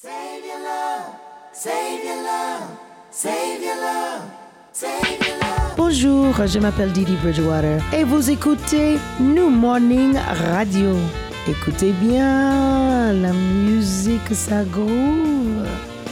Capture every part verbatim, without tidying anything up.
Save your love, save your love, save your love, save your love. Bonjour, je m'appelle Didi Bridgewater et vous écoutez New Morning Radio. Écoutez bien, la musique ça groove.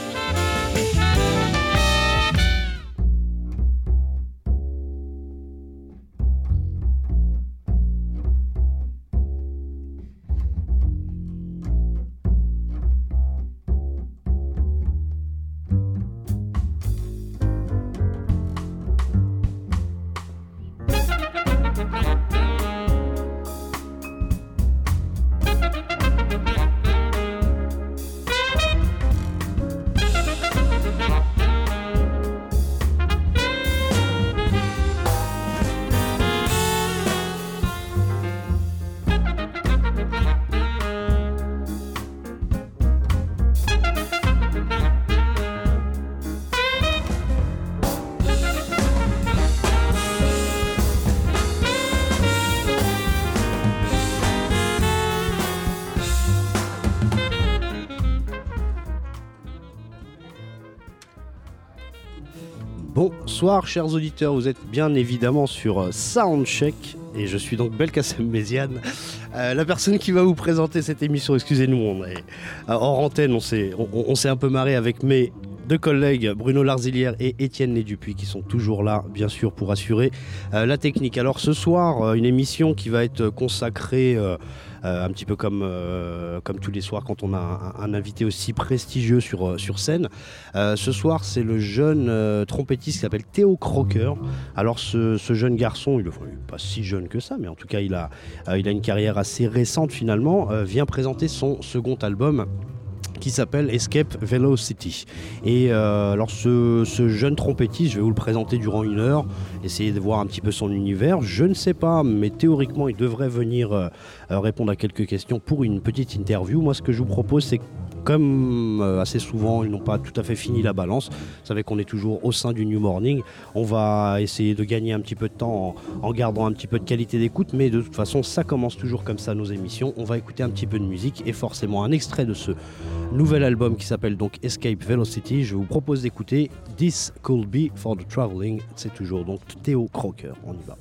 Bonsoir chers auditeurs, vous êtes bien évidemment sur Soundcheck et je suis donc Belkacem Méziane, euh, la personne qui va vous présenter cette émission. Excusez-nous, on est euh, hors antenne, on s'est, on, on s'est un peu marré avec mes deux collègues Bruno Larzilière et Étienne Né-Dupuis qui sont toujours là bien sûr pour assurer euh, la technique. Alors ce soir, euh, une émission qui va être consacrée euh, Euh, un petit peu comme, euh, comme tous les soirs quand on a un, un invité aussi prestigieux sur, euh, sur scène. Euh, ce soir, c'est le jeune euh, trompettiste qui s'appelle Theo Crocker. Alors ce, ce jeune garçon, il n'est pas si jeune que ça, mais en tout cas il a, euh, il a une carrière assez récente finalement, euh, vient présenter son second album qui s'appelle Escape Velocity. Et euh, alors ce, ce jeune trompettiste, je vais vous le présenter durant une heure, essayer de voir un petit peu son univers. Je ne sais pas, mais théoriquement, il devrait venir euh, répondre à quelques questions pour une petite interview. Moi, ce que je vous propose, c'est comme euh, assez souvent, ils n'ont pas tout à fait fini la balance. Vous savez qu'on est toujours au sein du New Morning. On va essayer de gagner un petit peu de temps en, en gardant un petit peu de qualité d'écoute, mais de toute façon, ça commence toujours comme ça nos émissions. On va écouter un petit peu de musique et forcément un extrait de ce nouvel album qui s'appelle donc Escape Velocity. Je vous propose d'écouter This Could Be for the Traveling. C'est toujours donc Theo Crocker. On y va.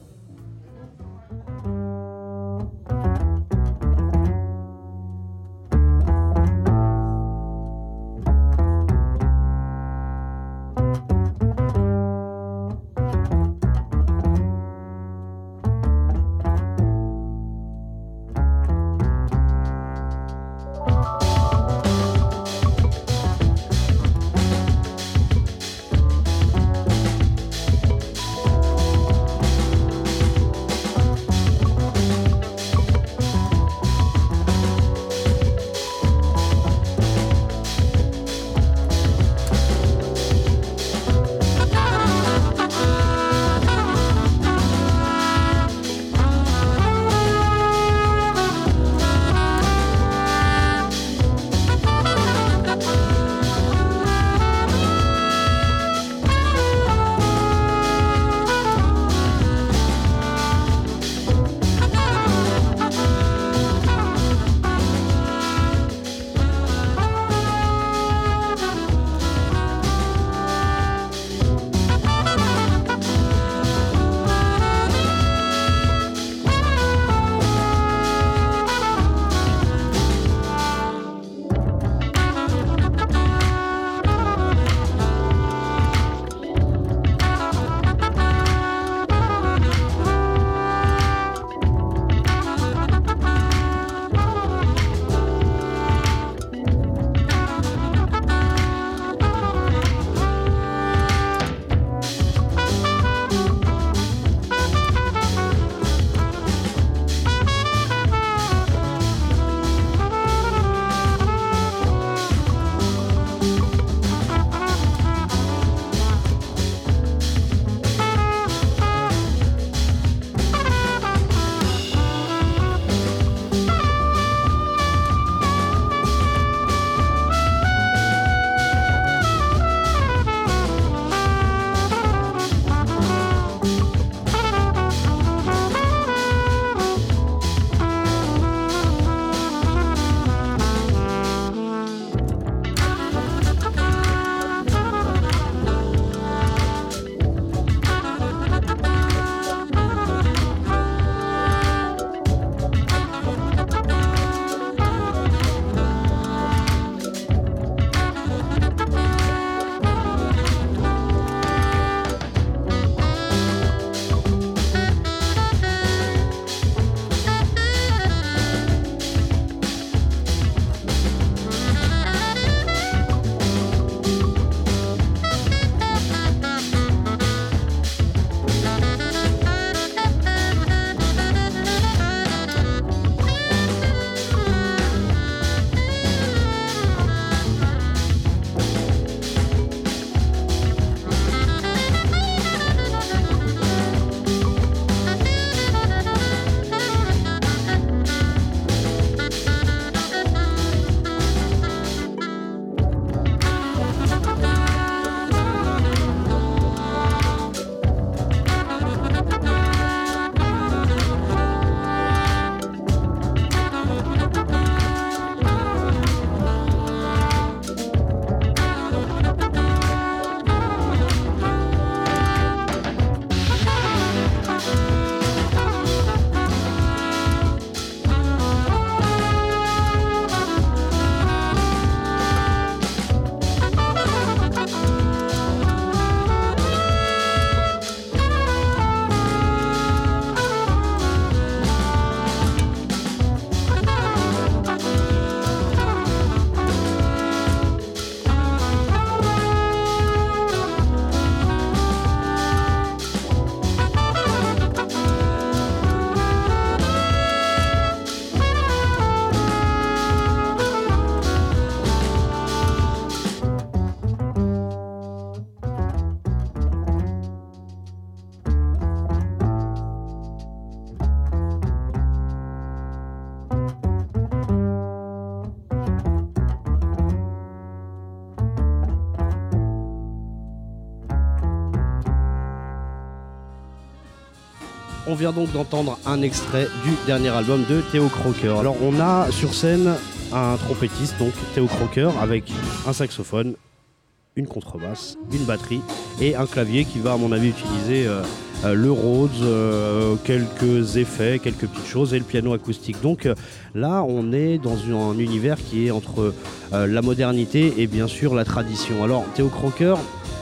on vient donc d'entendre un extrait du dernier album de Theo Croker. Alors on a sur scène un trompettiste, donc Theo Croker, avec un saxophone, une contrebasse, une batterie et un clavier qui va à mon avis utiliser euh, euh, le Rhodes, euh, quelques effets, quelques petites choses et le piano acoustique. Donc euh, là on est dans une, un univers qui est entre euh, la modernité et bien sûr la tradition. Alors Theo Croker,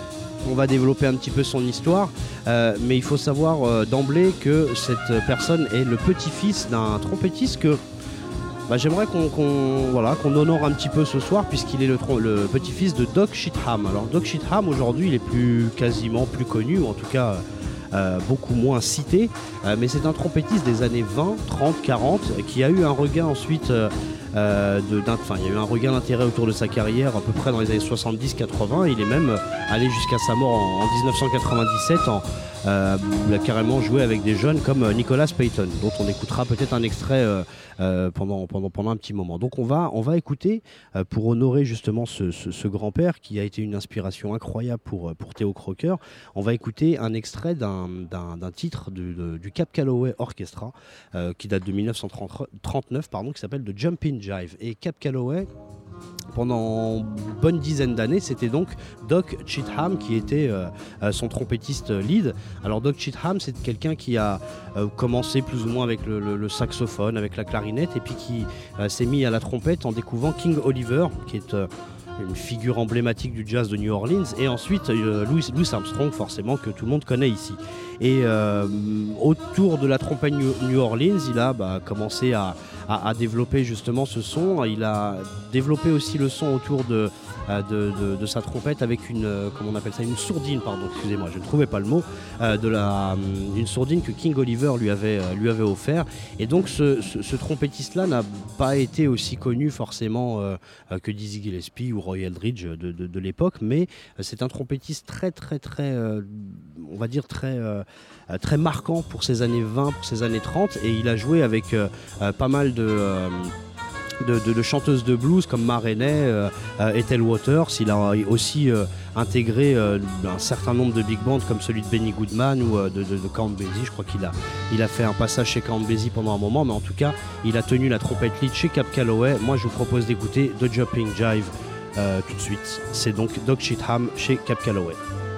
on va développer un petit peu son histoire, euh, mais il faut savoir euh, d'emblée que cette personne est le petit-fils d'un trompettiste que bah, j'aimerais qu'on qu'on, voilà, qu'on honore un petit peu ce soir, puisqu'il est le, le petit-fils de Doc Sheetham. Alors Doc Sheetham aujourd'hui il est plus, quasiment plus connu, ou en tout cas euh, beaucoup moins cité, euh, mais c'est un trompettiste des années vingt, trente, quarante qui a eu un regain ensuite euh, euh, de, enfin, il y a eu un regain d'intérêt autour de sa carrière à peu près dans les années soixante-dix quatre-vingts. Il est même allé jusqu'à sa mort en, en dix-neuf cent quatre-vingt-dix-sept en Euh, il a carrément joué avec des jeunes comme Nicholas Payton, dont on écoutera peut-être un extrait euh, euh, pendant, pendant, pendant un petit moment. Donc on va, on va écouter, euh, pour honorer justement ce, ce, ce grand-père qui a été une inspiration incroyable pour, pour Theo Croker, on va écouter un extrait d'un, d'un, d'un titre du, de, du Cab Calloway Orchestra, euh, qui date de dix-neuf cent trente-neuf, pardon, qui s'appelle The Jumpin' Jive. Et Cab Calloway, pendant une bonne dizaine d'années, c'était donc Doc Sheetham qui était euh, son trompettiste lead. Alors Doc Sheetham, c'est quelqu'un qui a euh, commencé plus ou moins avec le, le, le saxophone, avec la clarinette, et puis qui euh, s'est mis à la trompette en découvrant King Oliver, qui est euh, une figure emblématique du jazz de New Orleans, et ensuite euh, Louis, Louis Armstrong, forcément, que tout le monde connaît ici. Et euh, autour de la trompette New, New Orleans, il a bah, commencé à, à, à développer justement ce son. Il a développé aussi le son autour de, de, de, de sa trompette avec une, comment on appelle ça, une sourdine, pardon, excusez-moi, je ne trouvais pas le mot, euh, de la, d'une sourdine que King Oliver lui avait, lui avait offert. Et donc ce, ce, ce trompettiste-là n'a pas été aussi connu forcément euh, que Dizzy Gillespie ou Roy Eldridge de, de, de l'époque, mais c'est un trompettiste très très très, euh, on va dire très, euh, très marquant pour ses années vingt, pour ses années trente, et il a joué avec euh, pas mal de... Euh, De, de, de chanteuses de blues comme Ma Rainey, euh, euh, Ethel Waters. Il a aussi euh, intégré euh, un certain nombre de big bands comme celui de Benny Goodman ou euh, de, de, de Count Basie. Je crois qu'il a, il a fait un passage chez Count Basie pendant un moment, mais en tout cas il a tenu la trompette lead chez Cab Calloway. Moi je vous propose d'écouter The Jumping Jive euh, tout de suite. C'est donc Doc Sheetham chez Cab Calloway.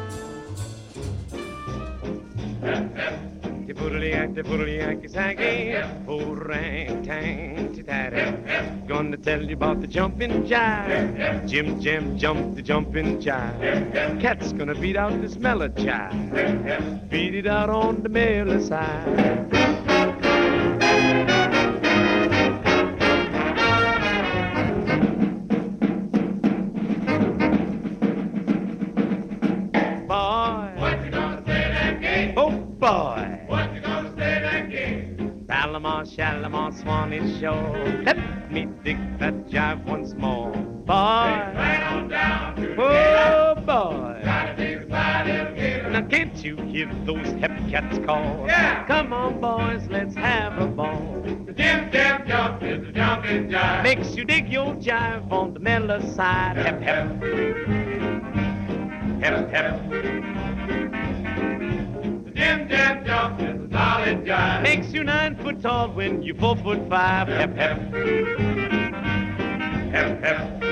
Gonna tell you about the jumping jive. Jim Jim jump the jumping jive. Cat's gonna beat out this mellow jive. Beat it out on the mellow side. Boy, what you gonna say that game? Oh boy. Shalimar, Shalimar, Swanee Shore. Let me dig that jive once more. Boy, right on down to the oh boy, gotta dig the now can't you hear those hep cats call? Yeah. Come on boys, let's have a ball. The Jim Jam jump is the jumping jive. Makes you dig your jive on the mellow side. Hep hep, hep hep. The Jim Jam jump is the solid jive. Makes you nine foot tall when you four foot five. Hep hep, hep hep.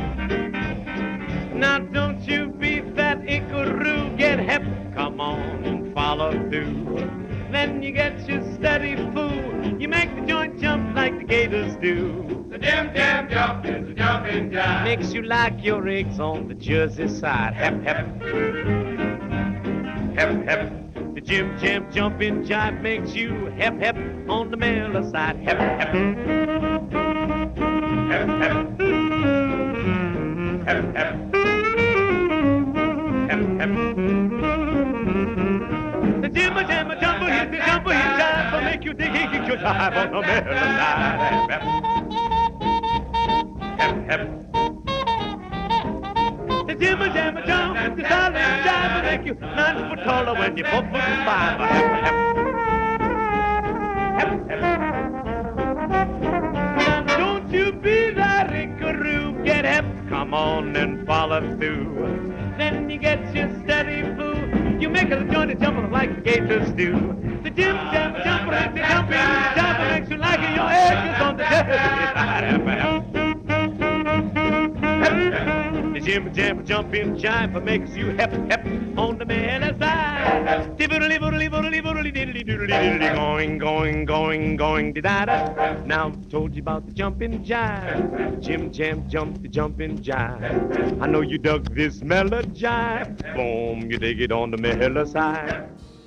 Now don't you be that Ickaroo, get hep, come on and follow through. Then you get your steady fool, you make the joint jump like the gators do. The Jim Jam jump is the jumping jive. Makes you like your eggs on the Jersey side. Hep hep, hep hep. The Jim Jam jumping jive makes you hep hep on the mellow side. Hep hep, hep hep, hep hep. The jimma jamma jumbo hit the jumbo hit jive will make you dig hit your jive on the mellow side. Hep hep. The jimma jamma jump, the solid jive will make you nine foot taller when you're four foot five. Hep hep. Hep hep. Now don't you be that Ickaroo, get hep, come on and follow through. Then you get your steady fool. You make a joint and jump like the gators do. The jim jam jumper and the jumping jumper makes you like your egg is on the The jim jam jumping jive makes you hep hep on the man side. Diddly diddly diddly diddly diddly diddly going going going going da da. Now I've told you about the jumping jive. Jim jam jump the jumping jive. I know you dug this mellow jive. Boom, you dig it on the mellow side.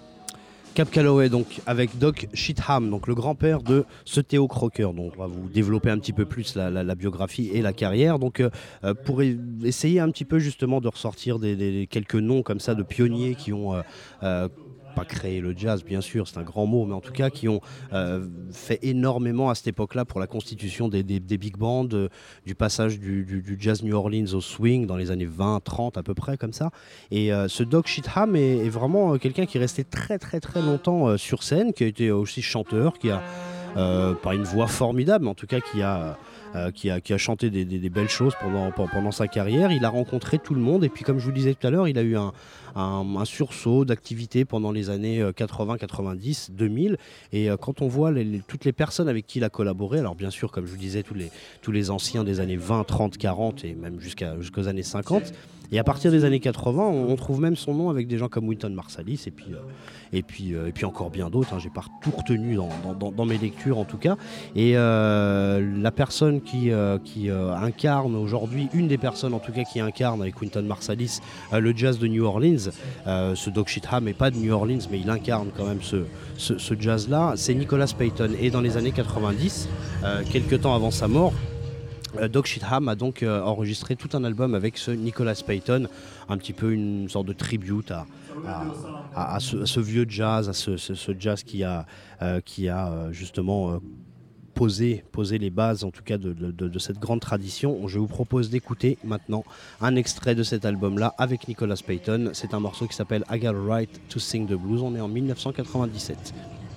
Cab Calloway, donc avec Doc Sheetham, donc le grand-père de ce Theo Crocker. Donc on va vous développer un petit peu plus la, la, la biographie et la carrière. Donc euh, pour e- essayer un petit peu justement de ressortir des, des, quelques noms comme ça de pionniers qui ont euh, euh, pas créé le jazz, bien sûr, c'est un grand mot, mais en tout cas qui ont euh, fait énormément à cette époque-là pour la constitution des, des, des big bands, euh, du passage du, du, du jazz New Orleans au swing dans les années vingt, trente à peu près comme ça. Et euh, ce Doc Sheetham est, est vraiment euh, quelqu'un qui est resté très très très longtemps euh, sur scène, qui a été aussi chanteur, qui a euh, pas une voix formidable, mais en tout cas qui a Euh, qui, a, qui a chanté des, des, des belles choses pendant, pendant sa carrière. Il a rencontré tout le monde et puis comme je vous le disais tout à l'heure, il a eu un, un, un sursaut d'activité pendant les années quatre-vingts, quatre-vingt-dix, deux mille et euh, quand on voit les, les, toutes les personnes avec qui il a collaboré, alors bien sûr comme je vous le disais tous les, tous les anciens des années vingt, trente, quarante et même jusqu'à, jusqu'aux années cinquante, et à partir des années quatre-vingts on, on trouve même son nom avec des gens comme Wynton Marsalis et puis, euh, et puis, euh, et puis encore bien d'autres, hein. J'ai pas tout retenu dans, dans, dans, dans mes lectures en tout cas, et euh, la personne qui, euh, qui euh, incarne aujourd'hui, une des personnes en tout cas qui incarne avec Wynton Marsalis euh, le jazz de New Orleans, euh, ce Doc Sheetham n'est pas de New Orleans mais il incarne quand même ce, ce, ce jazz là, c'est Nicholas Payton. Et dans les années quatre-vingt-dix, euh, quelques temps avant sa mort, euh, Doc Sheetham a donc euh, enregistré tout un album avec ce Nicholas Payton, un petit peu une sorte de tribute à, à, à, à, ce, à ce vieux jazz, à ce, ce, ce jazz qui a, euh, qui a euh, justement euh, Poser, poser les bases en tout cas de, de, de, de cette grande tradition. Je vous propose d'écouter maintenant un extrait de cet album-là avec Nicholas Payton. C'est un morceau qui s'appelle I Got a Right to Sing the Blues. On est en dix-neuf cent quatre-vingt-dix-sept.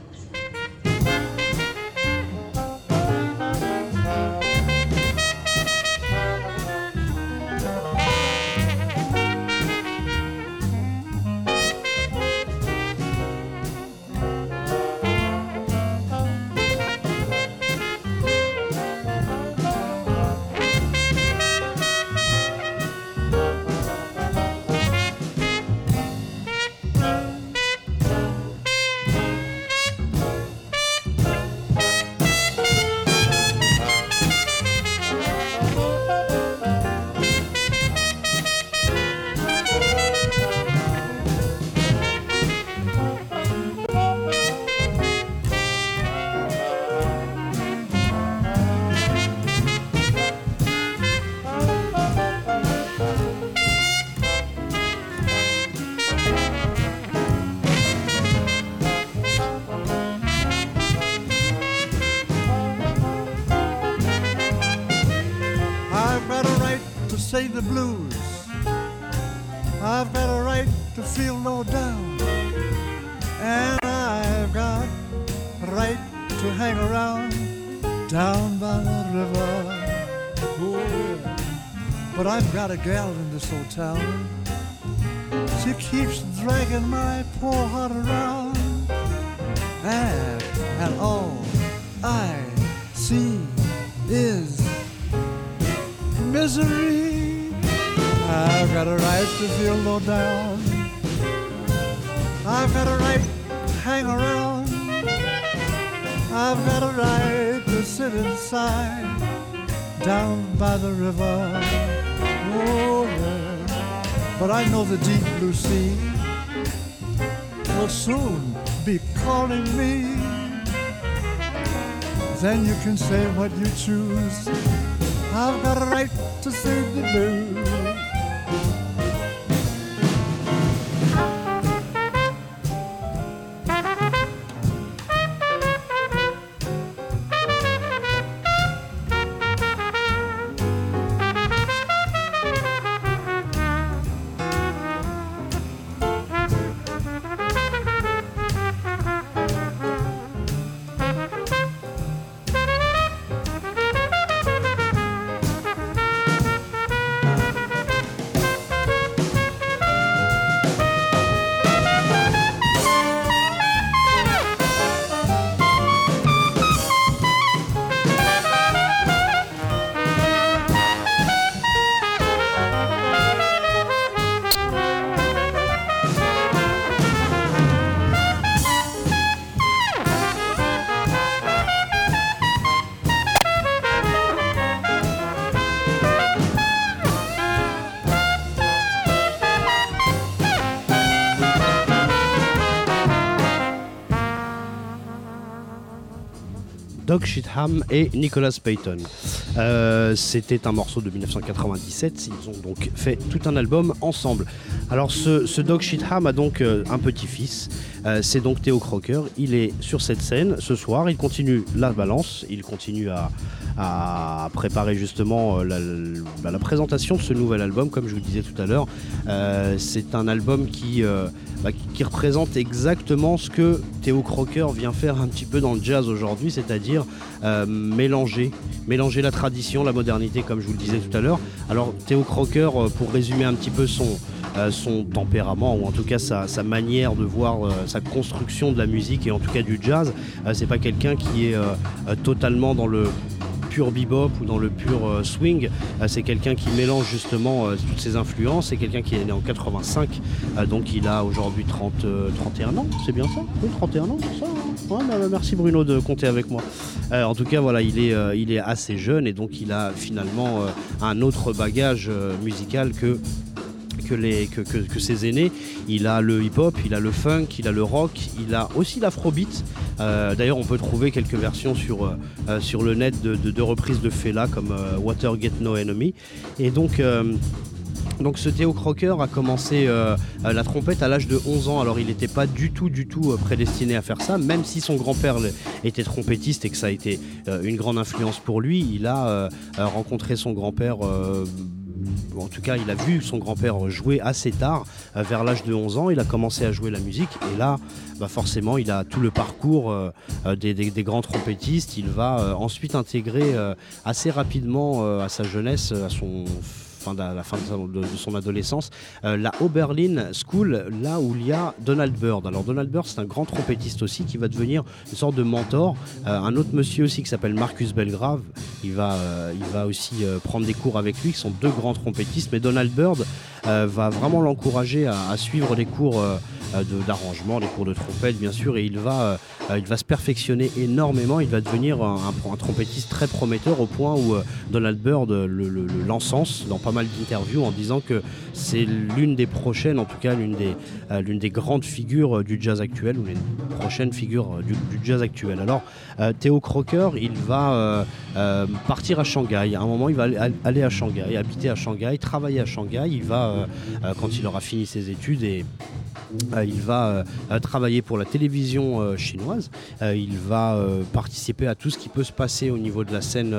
Sing the blues. I've got a right to feel low down, and I've got a right to hang around down by the river. Oh, yeah. But I've got a gal in this old town. She keeps dragging my poor heart around, and, and all I see is misery. I've got a right to feel low down. I've got a right to hang around. I've got a right to sit inside down by the river. Oh, yeah. But I know the deep blue sea will soon be calling me. Then you can say what you choose. I've got a right to sing the blues. Doug Sheetham et Nicholas Payton. Euh, c'était un morceau de dix-neuf cent quatre-vingt-dix-sept, ils ont donc fait tout un album ensemble. Alors ce, ce Doug Sheetham a donc euh, un petit-fils, euh, c'est donc Theo Croker, il est sur cette scène ce soir, il continue la balance, il continue à, à préparer justement la, la, la présentation de ce nouvel album, comme je vous le disais tout à l'heure. Euh, c'est un album qui, euh, bah, qui représente exactement ce que Theo Croker vient faire un petit peu dans le jazz aujourd'hui, c'est-à-dire euh, mélanger, mélanger la tradition, la modernité, comme je vous le disais tout à l'heure. Alors Theo Croker, pour résumer un petit peu son, euh, son tempérament, ou en tout cas sa, sa manière de voir, euh, sa construction de la musique et en tout cas du jazz, euh, c'est pas quelqu'un qui est euh, euh, totalement dans le pur bebop ou dans le pur euh, swing, euh, c'est quelqu'un qui mélange justement euh, toutes ses influences, c'est quelqu'un qui est né en quatre-vingt-cinq, euh, donc il a aujourd'hui trente, euh, trente et un ans, c'est bien ça? Oui, trente et un ans, c'est ça hein ouais, bah, merci Bruno de compter avec moi. Euh, en tout cas, voilà, il est, euh, il est assez jeune et donc il a finalement euh, un autre bagage euh, musical que Que, les, que, que, que ses aînés. Il a le hip-hop, il a le funk, il a le rock, il a aussi l'afrobeat. Euh, d'ailleurs, on peut trouver quelques versions sur, euh, sur le net de, de, de reprises de Fela comme euh, Watergate No Enemy. Et donc... Euh, Donc ce Theo Croker a commencé euh, la trompette à l'âge de onze ans. Alors il n'était pas du tout du tout prédestiné à faire ça, même si son grand-père était trompettiste et que ça a été euh, une grande influence pour lui. Il a euh, rencontré son grand-père, euh, en tout cas il a vu son grand-père jouer assez tard, euh, vers l'âge de onze ans. Il a commencé à jouer la musique et là bah forcément il a tout le parcours euh, des, des, des grands trompettistes. Il va euh, ensuite intégrer euh, assez rapidement euh, à sa jeunesse, à son Fin de, à la fin de, sa, de, de son adolescence, euh, la Oberlin School, là où il y a Donald Byrd. Alors Donald Byrd, c'est un grand trompettiste aussi qui va devenir une sorte de mentor. Euh, un autre monsieur aussi qui s'appelle Marcus Belgrave, il va, euh, il va aussi euh, prendre des cours avec lui, qui sont deux grands trompettistes. Mais Donald Byrd euh, va vraiment l'encourager à, à suivre les cours euh, de, d'arrangement, les cours de trompette bien sûr, et il va, euh, il va se perfectionner énormément. Il va devenir un, un, un trompettiste très prometteur au point où euh, Donald Byrd le, le, le, l'encense dans pas mal d'interviews en disant que c'est l'une des prochaines, en tout cas l'une des, euh, l'une des grandes figures euh, du jazz actuel, ou les prochaines figures euh, du, du jazz actuel. Alors euh, Theo Croker, il va euh, euh, partir à Shanghai. À un moment, il va aller à Shanghai, habiter à Shanghai, travailler à Shanghai. Il va, euh, euh, quand il aura fini ses études, et Euh, il va euh, travailler pour la télévision euh, chinoise, euh, il va euh, participer à tout ce qui peut se passer au niveau de la scène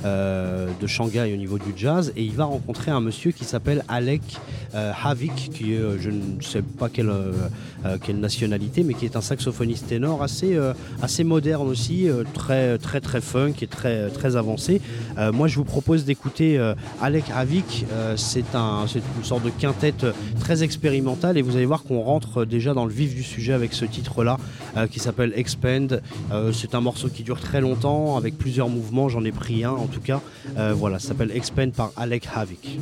euh, de Shanghai, au niveau du jazz, et il va rencontrer un monsieur qui s'appelle Alec euh, Havik, qui est, euh, je ne sais pas quelle, euh, euh, quelle nationalité, mais qui est un saxophoniste ténor assez, euh, assez moderne aussi, euh, très, très très funk et très, très avancé. Euh, moi je vous propose d'écouter euh, Alec Havik, euh, c'est, un, c'est une sorte de quintette très expérimentale, et vous allez voir qu'on rentre déjà dans le vif du sujet avec ce titre-là euh, qui s'appelle Expand. Euh, c'est un morceau qui dure très longtemps avec plusieurs mouvements, j'en ai pris un en tout cas. Euh, voilà, ça s'appelle Expand par Alec Havik.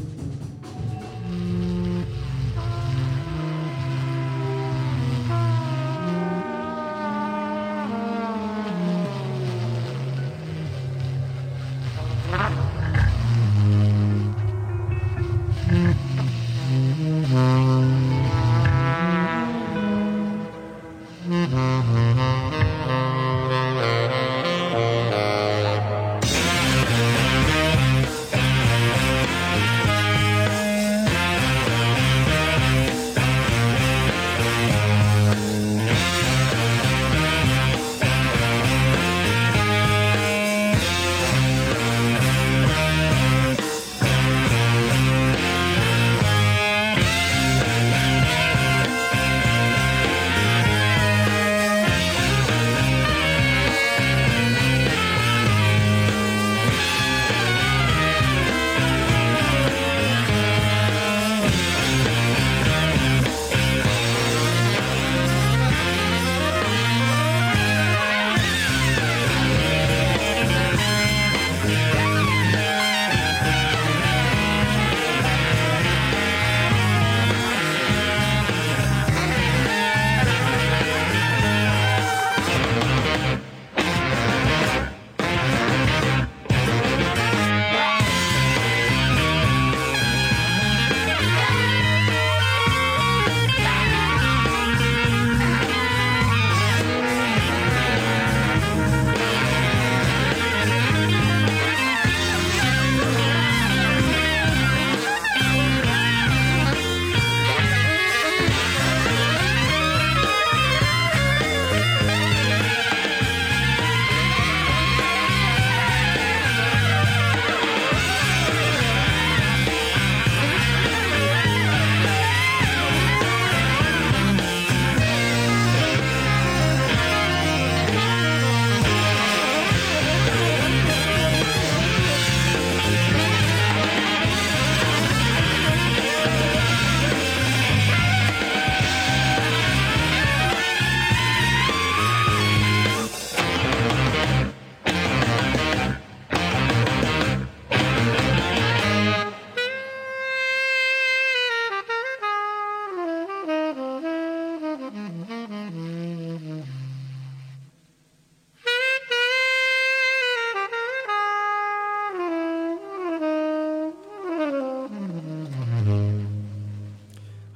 Mm-hmm.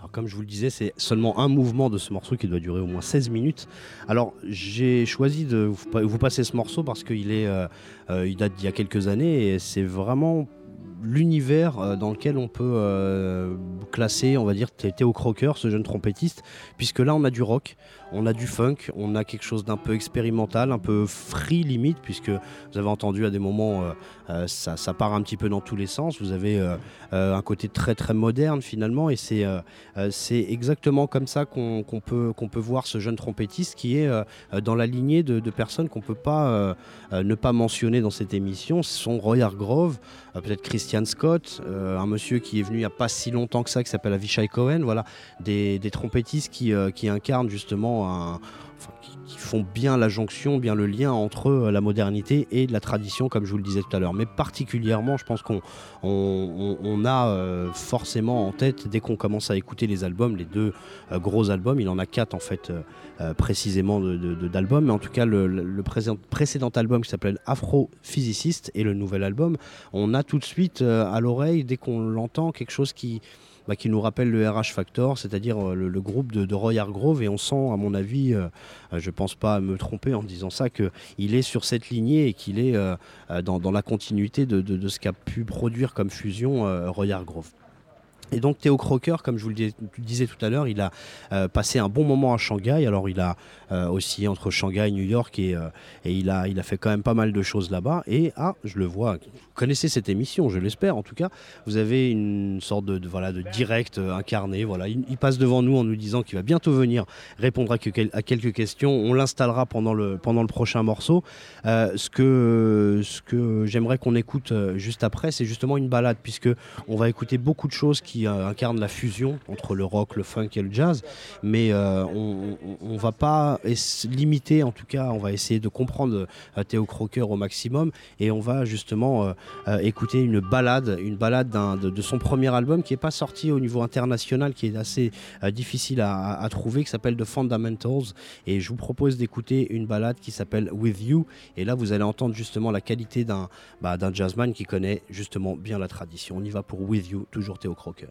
Alors, comme je vous le disais, c'est seulement un mouvement de ce morceau qui doit durer au moins seize minutes. Alors j'ai choisi de vous, vous passer ce morceau parce qu'il est, euh, euh, il date d'il y a quelques années et c'est vraiment l'univers dans lequel on peut euh, classer, on va dire, Theo Croker, ce jeune trompettiste, puisque là on a du rock, on a du funk, on a quelque chose d'un peu expérimental, un peu free limite, puisque vous avez entendu à des moments euh, euh, ça, ça part un petit peu dans tous les sens. Vous avez euh, euh, un côté très très moderne finalement, et c'est euh, euh, c'est exactement comme ça qu'on qu'on peut, qu'on peut voir ce jeune trompettiste qui est euh, dans la lignée de, de personnes qu'on peut pas euh, euh, ne pas mentionner dans cette émission. Ce sont Roy Hargrove, euh, peut-être Christian Scott, euh, un monsieur qui est venu il n'y a pas si longtemps que ça, qui s'appelle Avishai Cohen, voilà, des, des trompettistes qui, euh, qui incarnent justement un, enfin, qui, qui font bien la jonction, bien le lien entre euh, la modernité et la tradition, comme je vous le disais tout à l'heure. Mais particulièrement, je pense qu'on on, on a euh, forcément en tête, dès qu'on commence à écouter les albums, les deux euh, gros albums, il en a quatre en fait euh, euh, précisément de, de, de, d'albums, mais en tout cas le, le, le précédent, précédent album qui s'appelle Afrophysicist et le nouvel album, on a tout de suite euh, à l'oreille, dès qu'on l'entend, quelque chose qui... Bah, qui nous rappelle le R H Factor, c'est-à-dire euh, le, le groupe de, de Roy Hargrove, et on sent, à mon avis, euh, je ne pense pas me tromper en disant ça, qu'il est sur cette lignée et qu'il est euh, dans, dans la continuité de, de, de ce qu'a pu produire comme fusion euh, Roy Hargrove. Et donc Theo Croker, comme je vous le disais tout à l'heure, il a euh, passé un bon moment à Shanghai. Alors il a euh, oscillé entre Shanghai et New York et, euh, et il, a, il a fait quand même pas mal de choses là-bas. Et ah, je le vois, vous connaissez cette émission, je l'espère en tout cas. Vous avez une sorte de, de, voilà, de direct euh, incarné. Voilà. Il, il passe devant nous en nous disant qu'il va bientôt venir répondre à, que, à quelques questions. On l'installera pendant le, pendant le prochain morceau. Euh, ce que, ce que j'aimerais qu'on écoute euh, juste après, c'est justement une balade, puisque on va écouter beaucoup de choses qui incarne la fusion entre le rock, le funk et le jazz, mais euh, on ne va pas limiter, en tout cas on va essayer de comprendre euh, Theo Croker au maximum, et on va justement euh, euh, écouter une balade, une balade d'un, de, de son premier album qui n'est pas sorti au niveau international, qui est assez euh, difficile à, à trouver, qui s'appelle The Fundamentals, et je vous propose d'écouter une balade qui s'appelle With You, et là vous allez entendre justement la qualité d'un, bah, d'un jazzman qui connaît justement bien la tradition. On y va pour With You, toujours Theo Croker.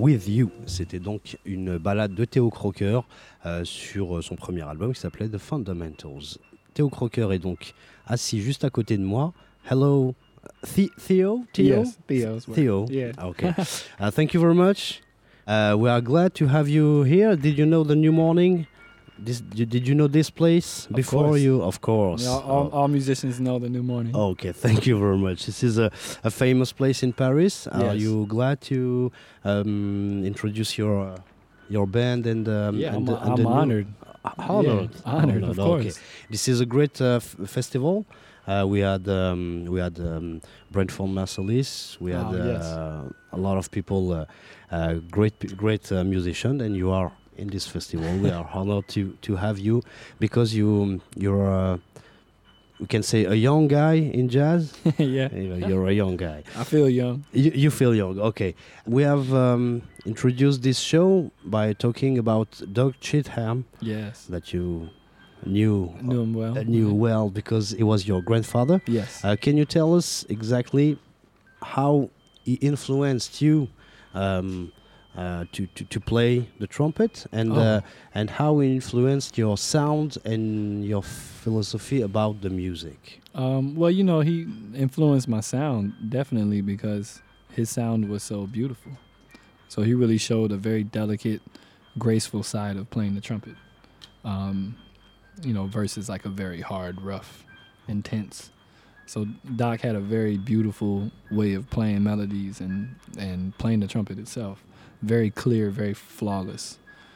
With You. C'était donc une balade de Theo Croker euh, sur son premier album qui s'appelait The Fundamentals. Theo Croker est donc assis juste à côté de moi. Hello, The- Theo? Theo? Yes, Theo's work. Theo. Yeah. Okay. uh, thank you very much. Uh, we are glad to have you here. Did you know the New Morning? This, did you know this place Of before course. you? Of course. Yeah, all, Oh. all musicians know the New Morning. Okay, thank you very much. This is a, a famous place in Paris. Are Yes. you glad to um, introduce your uh, your band and um, yeah, and, I'm, the- and I'm the new- honored. Uh, honored, Yeah, honored, of Okay. course. This is a great uh, f- festival. Uh, we had um, we had um, Brentford Marsalis. We had Oh, yes. uh, a lot of people, uh, uh, great p- great uh, musicians, and you are in this festival. We are honored to to have you because you you're uh, we can say a young guy in jazz. Yeah, You- You're a young guy. I feel young. You, you feel young. Okay. We have um, introduced this show by talking about Doug Chitham Yes, that you knew knew him well. uh, knew well because he was your grandfather. Yes. Uh, can you tell us exactly how he influenced you um, uh, to, to to play the trumpet and Oh. uh, and how he influenced your sound and your philosophy about the music? Um, well, you know, he influenced my sound definitely because his sound was so beautiful. So he really showed a very delicate, graceful side of playing the trumpet. Um, you know, versus like a very hard, rough, intense. So Doc had a very beautiful way of playing melodies and, and playing the trumpet itself. Very clear, very flawless.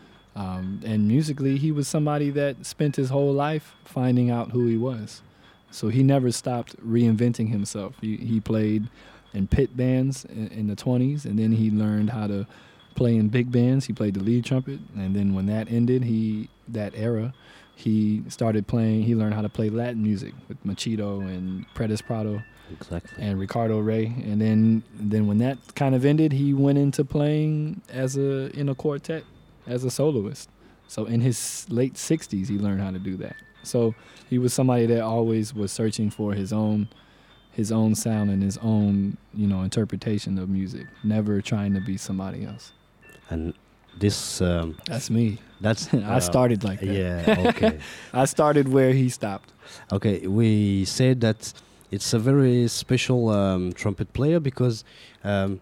Um, and musically, he was somebody that spent his whole life finding out who he was. So he never stopped reinventing himself. He, he played in pit bands in, in the twenties, and then he learned how to play in big bands. He played the lead trumpet, and then when that ended, he that era, he started playing. He learned how to play Latin music with Machito and Predis Prado Exactly. and Ricardo Rey. And then then when that kind of ended, he went into playing as a in a quartet as a soloist. So in his late sixties, he learned how to do that. So he was somebody that always was searching for his own his own sound and his own, you know, interpretation of music, never trying to be somebody else. And this um, That's me. that's I uh, started like that. Yeah. Okay. I started where he stopped. Okay, we said that it's a very special um, trumpet player because um,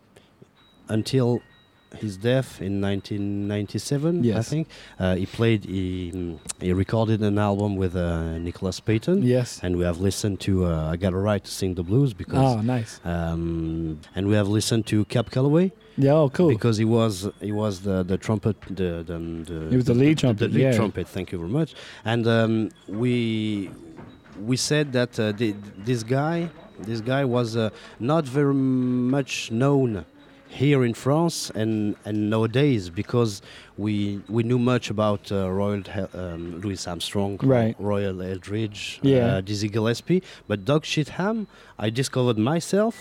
until his death in nineteen ninety-seven, I Yes. think, uh, he played, he, mm, he recorded an album with uh, Nicholas Payton. Yes. And we have listened to uh, I Got a Right to Sing the Blues because, Oh, nice. um, and we have listened to Cap Calloway Yeah, oh, cool. because he was he was the the trumpet the the, the He was the lead the, trumpet, the lead yeah. trumpet. Thank you very much. And um, we we said that uh, the, this guy this guy was uh, not very much known here in France and, and nowadays because we we knew much about uh, Royal Hel- um, Louis Armstrong, Right. Royal Eldridge, Yeah. uh, Dizzy Gillespie, but Doug Chitham I discovered myself.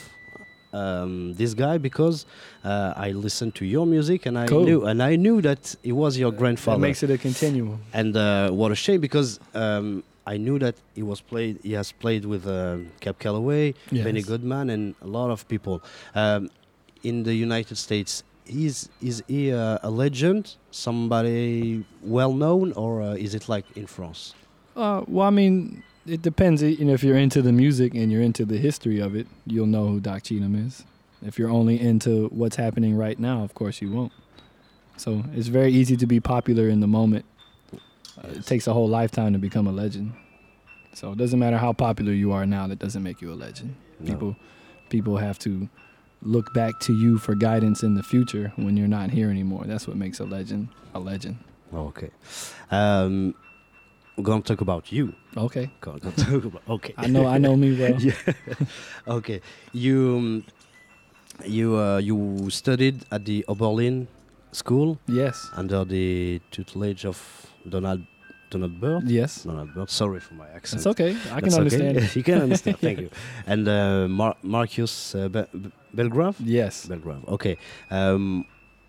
Um, this guy because uh, I listened to your music and I Cool. knew and I knew that it was your That grandfather. makes it a continuum. And uh, what a shame because um, I knew that he was played. He has played with uh, Cap Calloway, Yes. Benny Goodman, and a lot of people um, in the United States. Is is he uh, a legend? Somebody well known, or uh, is it like in France? Uh, well, I mean, it depends. You know, if you're into the music and you're into the history of it, you'll know who Doc Cheatham is. If you're only into what's happening right now, of course you won't. So it's very easy to be popular in the moment. Uh, it takes a whole lifetime to become a legend. So it doesn't matter how popular you are now. That doesn't make you a legend. No. People, people have to look back to you for guidance in the future when you're not here anymore. That's what makes a legend a legend. Okay. Um, we're gonna talk about you. Okay. Gonna, gonna talk about. Okay. I know. I know me well. Yeah. Okay. You um, you uh, you studied at the Oberlin School Yes. under the tutelage of Donald Donald Byrd. Yes. Donald Byrd. Sorry for my accent. That's okay. I That's can okay. understand. You can understand. Thank you. And uh, Mar- Marcus uh, Be- Be- Belgrave. Yes. Belgrave. Okay. Um,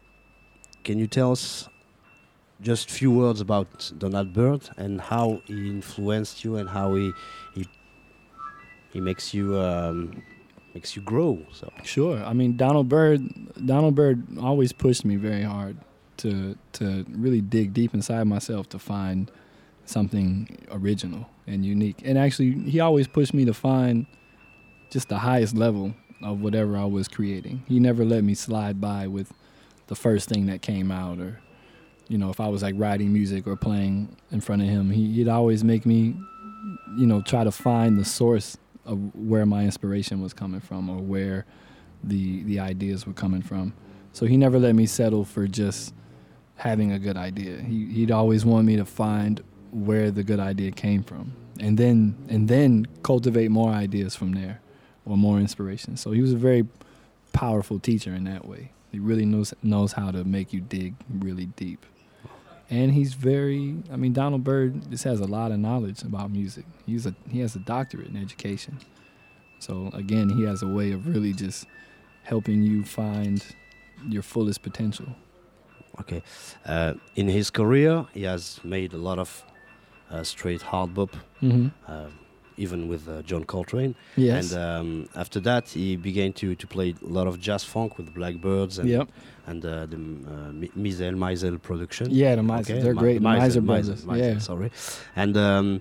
can you tell us just a few words about Donald Byrd and how he influenced you and how he he he makes you um, makes you grow. So Sure. I mean, Donald Byrd, Donald Byrd always pushed me very hard to to really dig deep inside myself to find something original and unique. And actually, he always pushed me to find just the highest level of whatever I was creating. He never let me slide by with the first thing that came out, or, you know, if I was like writing music or playing in front of him, he, he'd always make me, you know, try to find the source of where my inspiration was coming from, or where the the ideas were coming from. So he never let me settle for just having a good idea. He he'd always want me to find where the good idea came from, and then and then cultivate more ideas from there, or more inspiration. So he was a very powerful teacher in that way. He really knows knows how to make you dig really deep. And he's very, I mean, Donald Byrd just has a lot of knowledge about music. He's a he has a doctorate in education. So again, he has a way of really just helping you find your fullest potential. okay, uh, in his career, he has made a lot of uh, straight hard bop, Mm-hmm. uh, even with uh, John Coltrane. Yes. And um, after that, he began to, to play a lot of jazz funk with Blackbirds and Yep. and uh, the uh, Mi- Mizel Mizel production. Yeah, the Miser. They're Mi- great. The Miser, Miser Miser, brothers. Miser, Yeah. Sorry. And um,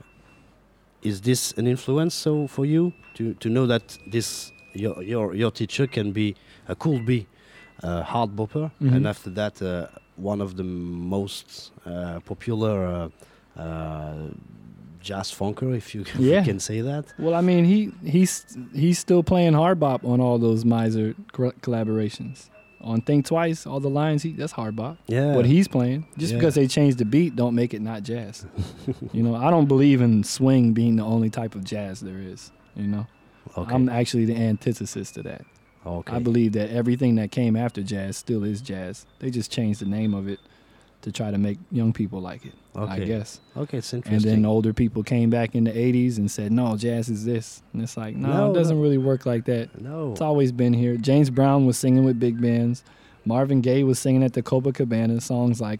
is this an influence so for you to, to know that this your your your teacher can be uh, could be a hard bopper, Mhm. and after that uh, one of the most uh, popular uh, uh, jazz funker, if you, if Yeah. you can say that. Well, I mean, he he's he's still playing hard bop on all those Miser cor- collaborations. On Think Twice, all the lines, he that's hard bop. Yeah. What he's playing. Just Yeah. because they changed the beat, don't make it not jazz. You know, I don't believe in swing being the only type of jazz there is. You know, Okay. I'm actually the antithesis to that. okay. I believe that everything that came after jazz still is jazz. They just changed the name of it to try to make young people like it, I Okay. guess. Okay, it's And interesting. then older people came back in the eighties and said, no, jazz is this. And it's like, no, No, it doesn't no. really work like that. no. It's always been here. James Brown was singing with big bands. Marvin Gaye was singing at the Copacabana, songs like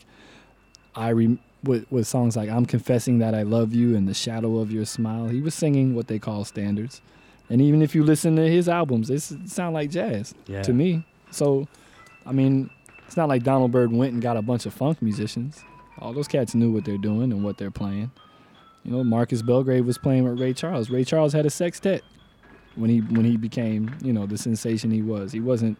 I re- with, with songs like I'm Confessing That I Love You and The Shadow of Your Smile. He was singing what they call standards. And even if you listen to his albums, they s- sound like jazz Yeah. to me. So, I mean, it's not like Donald Byrd went and got a bunch of funk musicians. All those cats knew what they're doing and what they're playing. You know, Marcus Belgrave was playing with Ray Charles. Ray Charles had a sextet when he when he became, you know, the sensation he was. He wasn't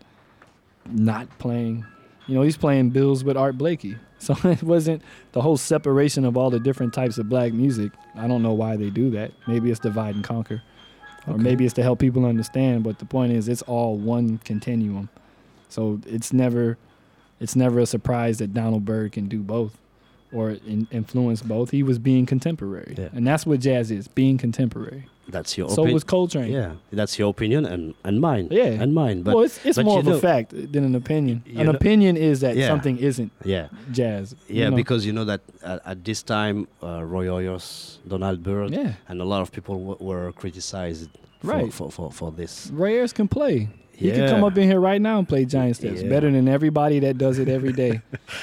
not playing. You know, he's playing bills with Art Blakey. So it wasn't the whole separation of all the different types of black music. I don't know why they do that. Maybe it's divide and conquer. Or Okay. maybe it's to help people understand, but the point is it's all one continuum. So it's never it's never a surprise that Donald Byrd can do both or in, influence both. He was being contemporary. Yeah. And that's what jazz is, being contemporary. That's your So opinion. was Coltrane. Yeah, that's your opinion and, and mine. Yeah. And mine. But well, it's, it's but more you of a know- fact than an opinion. you An know- opinion is that Yeah. something isn't yeah. jazz. you Yeah, know? because you know that at, at this time, uh, Roy Ayers, Donald Byrd, Yeah. and a lot of people w- were criticized for, Right. for, for, for this. Ray Ayers can play. He Yeah. could come up in here right now and play giant steps Yeah. better than everybody that does it every day.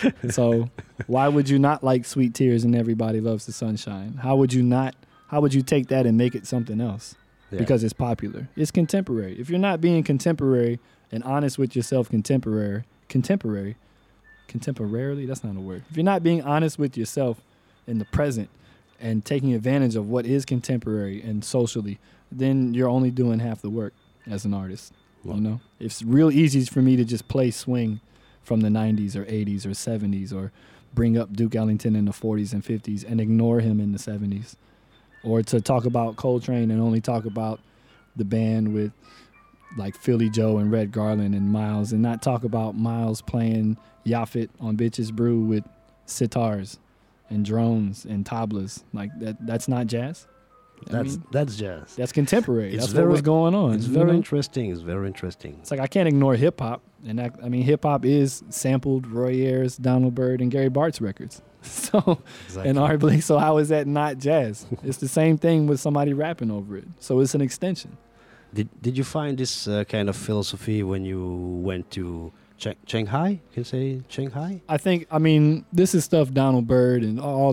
So why would you not like Sweet Tears and Everybody Loves the Sunshine? How would you not? How would you take that and make it something else? Yeah. Because it's popular. It's contemporary. If you're not being contemporary and honest with yourself, contemporary, contemporary, contemporarily, that's not a word. If you're not being honest with yourself in the present and taking advantage of what is contemporary and socially, then you're only doing half the work as an artist. Well- You know, it's real easy for me to just play swing from the nineties or eighties or seventies or bring up Duke Ellington in the forties and fifties and ignore him in the seventies. Or to talk about Coltrane and only talk about the band with like Philly Joe and Red Garland and Miles and not talk about Miles playing Yaphet on Bitches Brew with sitars and drones and tablas. Like that that's not jazz. I That's mean, that's jazz. that's contemporary. It's That's very- what was going on. It's you very know? interesting. It's very interesting. It's like I can't ignore hip hop, and that, I mean hip hop is sampled Roy Ayers, Donald Byrd, and Gary Bart's records. So Exactly. and Art Blakey. So how is that not jazz? It's the same thing with somebody rapping over it. So it's an extension. Did Did you find this uh, kind of philosophy when you went to Ch- Shanghai? Can you say Shanghai? I think I mean this is stuff Donald Byrd and all the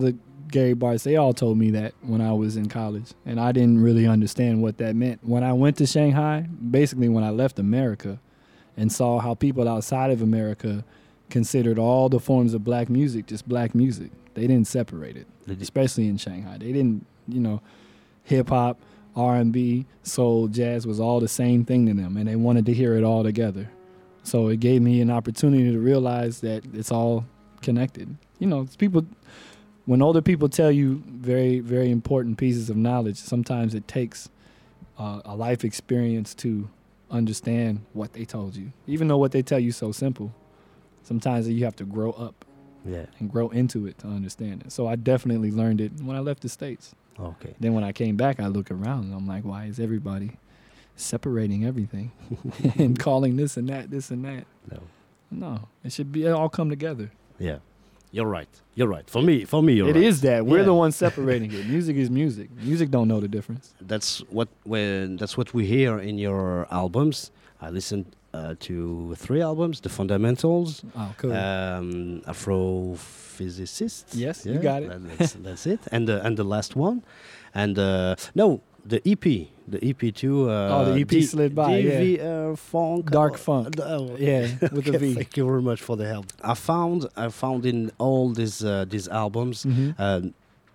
Gary Bartz, they all told me that when I was in college, and I didn't really understand what that meant. When I went to Shanghai, basically when I left America and saw how people outside of America considered all the forms of black music just black music. They didn't separate it, especially in Shanghai. They didn't, you know, hip-hop, R and B, soul, jazz was all the same thing to them, and they wanted to hear it all together. So it gave me an opportunity to realize that it's all connected. You know, it's people, when older people tell you very, very important pieces of knowledge, sometimes it takes uh, a life experience to understand what they told you. Even though what they tell you is so simple, sometimes you have to grow up Yeah. and grow into it to understand it. So I definitely learned it when I left the States. Okay. Then when I came back, I look around and I'm like, why is everybody separating everything and calling this and that, this and that? No. No, it should be it all come together. Yeah. You're right. You're right. For me, for me, you're It right. is that. We're Yeah. the ones separating it. Music is music. Music don't know the difference. That's what when that's what we hear in your albums. I listened uh, to three albums: The Fundamentals, Oh, cool. um, Afrophysicist. Yes, you got it. that- That's, that's it. And the and the last one, and uh, no, the E P, the E P too. Uh, Oh, the E P D- slid by, D V, uh, funk, Dark uh, funk. oh, Yeah, with a okay, V. Thank you very much for the help. I found I found in all these uh, these albums Mhm. um,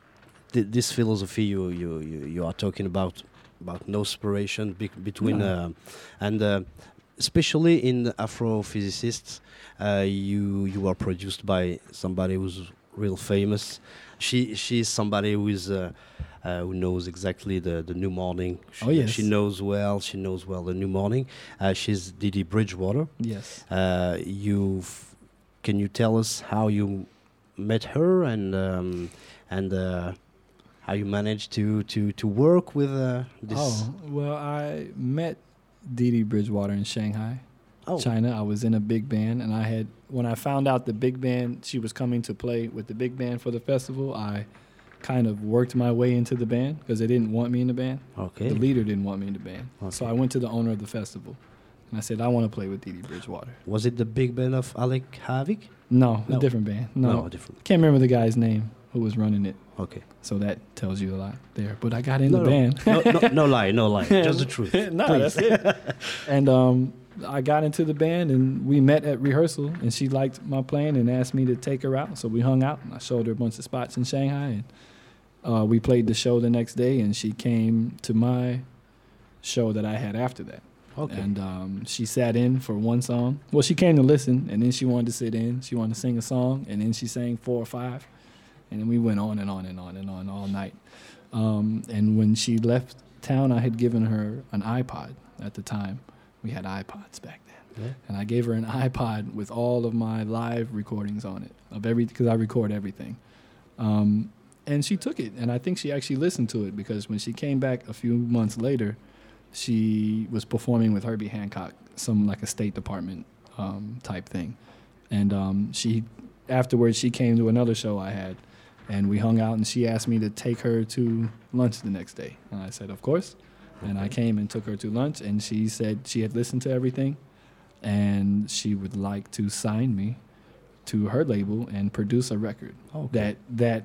th- this philosophy you, you you you are talking about about no separation be- between No. uh, and uh, especially in the Afrophysicists, uh, you you are produced by somebody who's real famous. She she's somebody who is uh, uh, who knows exactly the, the New Morning. She, Oh, yes. she knows well. She knows well the New Morning. Uh, she's Didi Bridgewater. Yes. Uh, you can you tell us how you met her and um, and uh, how you managed to to to work with uh, this? Oh, well, I met Dee Dee Bridgewater in Shanghai, Oh. China. I was in a big band, and I had, when I found out the big band, she was coming to play with the big band for the festival, I kind of worked my way into the band because they didn't want me in the band. Okay. The leader didn't want me in the band. So Okay. I went to the owner of the festival, and I said, I want to play with Dee Dee Bridgewater. Was it the big band of Alec Havik? No, No. a different band. No, No, different. can't remember the guy's name who was running it. Okay. So that tells you a lot there. But I got in No, the no. band. no, no, no lie, no lie. Just the truth. no, please. that's it. And um, I got into the band, and we met at rehearsal, and she liked my playing and asked me to take her out. So we hung out, and I showed her a bunch of spots in Shanghai, and uh, we played the show the next day, and she came to my show that I had after that. Okay. And um, she sat in for one song. Well, she came to listen, and then she wanted to sit in. She wanted to sing a song, and then she sang four or five. And then we went on and on and on and on all night. Um, and when she left town, I had given her an iPod at the time. We had iPods back then. Yeah. And I gave her an iPod with all of my live recordings on it, of every because I record everything. Um, and she took it, and I think she actually listened to it because when she came back a few months later, she was performing with Herbie Hancock, some like a State Department um, type thing. And um, she, afterwards, she came to another show I had, and we hung out, and she asked me to take her to lunch the next day. And I said, of course. And I came and took her to lunch, and she said she had listened to everything, and she would like to sign me to her label and produce a record Okay. that that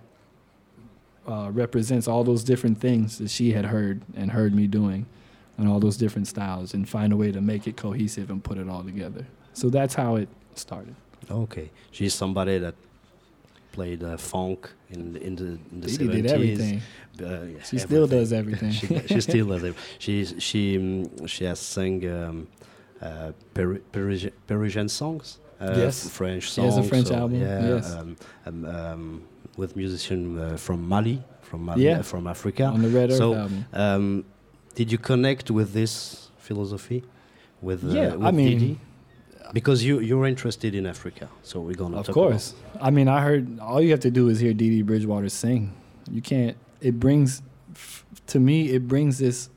uh, represents all those different things that she had heard and heard me doing, and all those different styles, and find a way to make it cohesive and put it all together. So that's how it started. Okay. She's somebody that played uh, funk in the, in the in the Dee Dee seventies. did everything. Uh, yeah, She still everything. does everything. she, she still does it. She's she um, she has sung um, uh, Peri- Parisian, Parisian songs. Uh, Yes. f- French She songs. has a French so, album, Yeah, yes. um, um, um, with musician uh, from Mali, from Mali, Yeah. uh, from Africa. On the Red Earth so, album. um, did you connect with this philosophy? With uh, Yeah, with I mean, Didi? Because you you're interested in Africa, so we're gonna Of talk course. I mean, I heard all you have to do is hear Dee Dee Bridgewater sing. You can't. It brings, f- to me, it brings this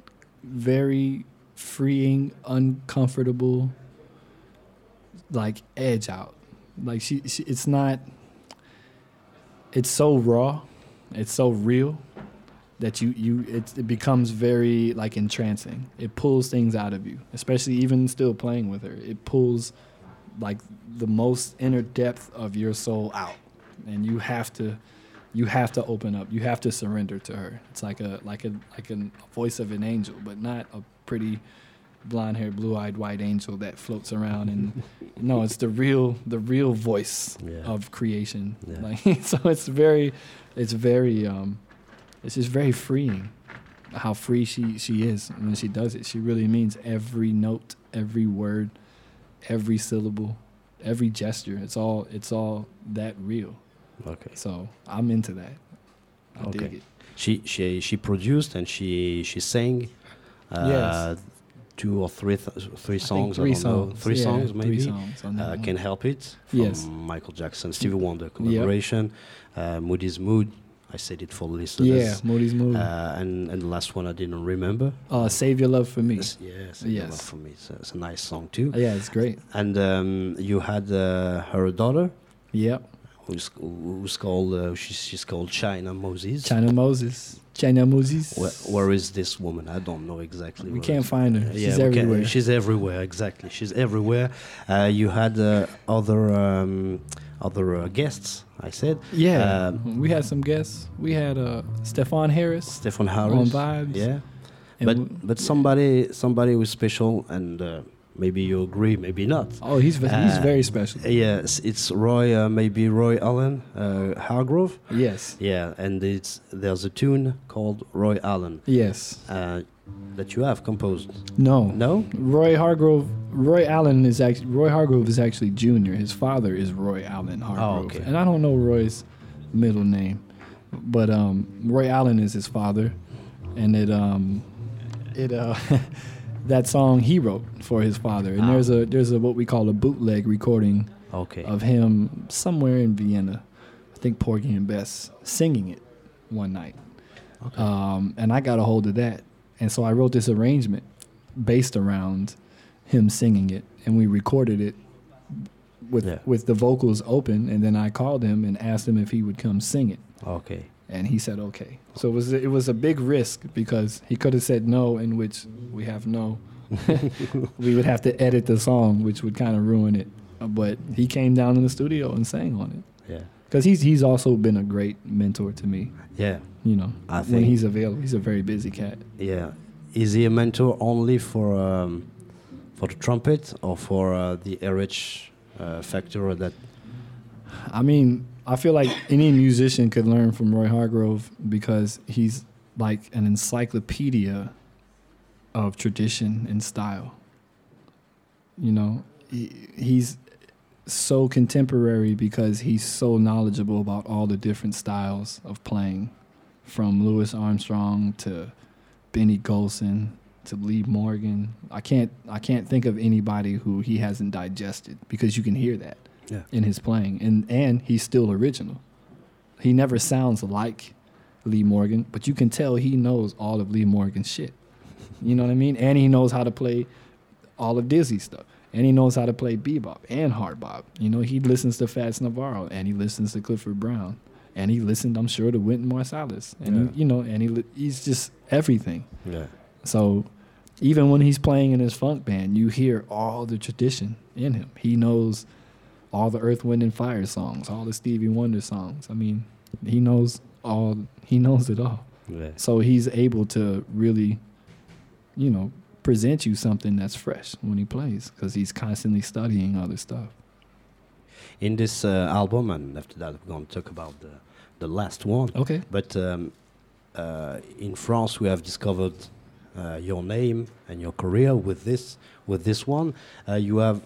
very freeing, uncomfortable, like edge out. Like she, she it's not. It's so raw, it's so real, that you you it, it becomes very like entrancing. It pulls things out of you, especially even still playing with her. It pulls like the most inner depth of your soul out, and you have to you have to open up. You have to surrender to her. It's like a like a like a voice of an angel, but not a pretty blonde-haired, blue-eyed white angel that floats around. And no, it's the real the real voice Yeah. of creation. Yeah. Like so, it's very, it's very, um, it's just very freeing. How free she she is when she does it. She really means every note, every word, every syllable, every gesture. It's all it's all that real. Okay. So I'm into that. I Okay. dig it. She she she produced and she she sang. Uh, Yes. Two or three th- three I songs. think three I don't know. songs. Three Yeah, songs maybe. Three songs on that Uh, one. Can't Help It from Yes. Michael Jackson, Stevie Wonder collaboration. Uh, Moody's Mood. I said it for the listeners. Yeah, Moody's Mood. Uh, and and the last one I didn't remember. uh, Save Your Love for Me. Yes, yes, Yes. for me. It's a, it's a nice song too. Yeah, it's great. And um, you had uh, her daughter, Yep. who's who's called uh, she's she's called China Moses. China Moses. China Moses. Where, where is this woman? I don't know exactly. We where can't it- find her. Yeah, She's we can't- everywhere. She's everywhere. Exactly. She's everywhere. Uh, you had uh, other um, other uh, guests. I said. Yeah. Um, we had some guests. We had uh, Stefan Harris. Stefan Harris. On Vibes. Yeah. And But w- but somebody somebody was special, and uh, maybe you agree, maybe not. Oh, he's ve- he's Uh, very special. Yes, it's Roy, uh, maybe Roy Allen uh, Hargrove. Yes. Yeah, and it's there's a tune called Roy Allen Yes. uh, that you have composed. No. No? Roy Hargrove. Roy Allen is actually Roy Hargrove is actually junior. His father is Roy Allen Hargrove, okay. and I don't know Roy's middle name, but um, Roy Allen is his father, and it um, it uh, that song he wrote for his father, and Ah. there's a there's a what we call a bootleg recording Okay. of him somewhere in Vienna, I think Porgy and Bess singing it one night. Okay. Um, and I got a hold of that. And so I wrote this arrangement based around him singing it. And we recorded it with Yeah. with the vocals open. And then I called him and asked him if he would come sing it. Okay. And he said, okay. So it was, it was a big risk because he could have said no, in which we have no. We would have to edit the song, which would kind of ruin it. Uh, But he came down in the studio and sang on it. Yeah. Because he's he's also been a great mentor to me. Yeah. You know, I when think- he's available, he's a very busy cat. Yeah. Is he a mentor only for um, for the trumpet or for uh, the R H uh, factor that? I mean, I feel like any musician could learn from Roy Hargrove because he's like an encyclopedia of tradition and style. You know, he, he's so contemporary because he's so knowledgeable about all the different styles of playing, from Louis Armstrong to Benny Golson to Lee Morgan. I can't I can't think of anybody who he hasn't digested because you can hear that Yeah. in his playing, and and he's still original. He never sounds like Lee Morgan, but you can tell he knows all of Lee Morgan's shit. You know what I mean? And he knows how to play all of Dizzy's stuff, and he knows how to play bebop and hard bop. You know, he listens to Fats Navarro, and he listens to Clifford Brown, and he listened, I'm sure, to Wynton Marsalis, and Yeah. he, you know, and he li- he's just everything. Yeah. So even when he's playing in his funk band, you hear all the tradition in him. He knows all the Earth, Wind, and Fire songs, all the Stevie Wonder songs. I mean, he knows all. He knows it all. Yeah. So he's able to really, you know, present you something that's fresh when he plays because he's constantly studying other stuff. In this uh, album, and after that, we're going to talk about the the last one. Okay. But um, uh, in France, we have discovered uh, your name and your career with this with this one. Uh, you have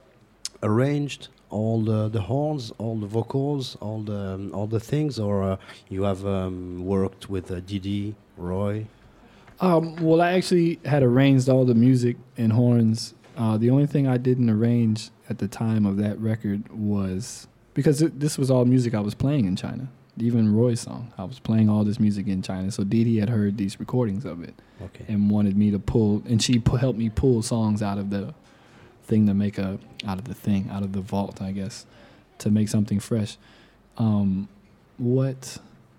arranged all the, the horns, all the vocals, all the um, all the things, or uh, you have um, worked with uh, Didi, Roy. Um, well, I actually had arranged all the music and horns. Uh, the only thing I didn't arrange at the time of that record was because it, this was all music I was playing in China. Even Roy's song, I was playing all this music in China. So Didi had heard these recordings of it Okay. and wanted me to pull, and she pu- helped me pull songs out of the thing to make a, out of the thing, out of the vault, I guess, to make something fresh. Um, what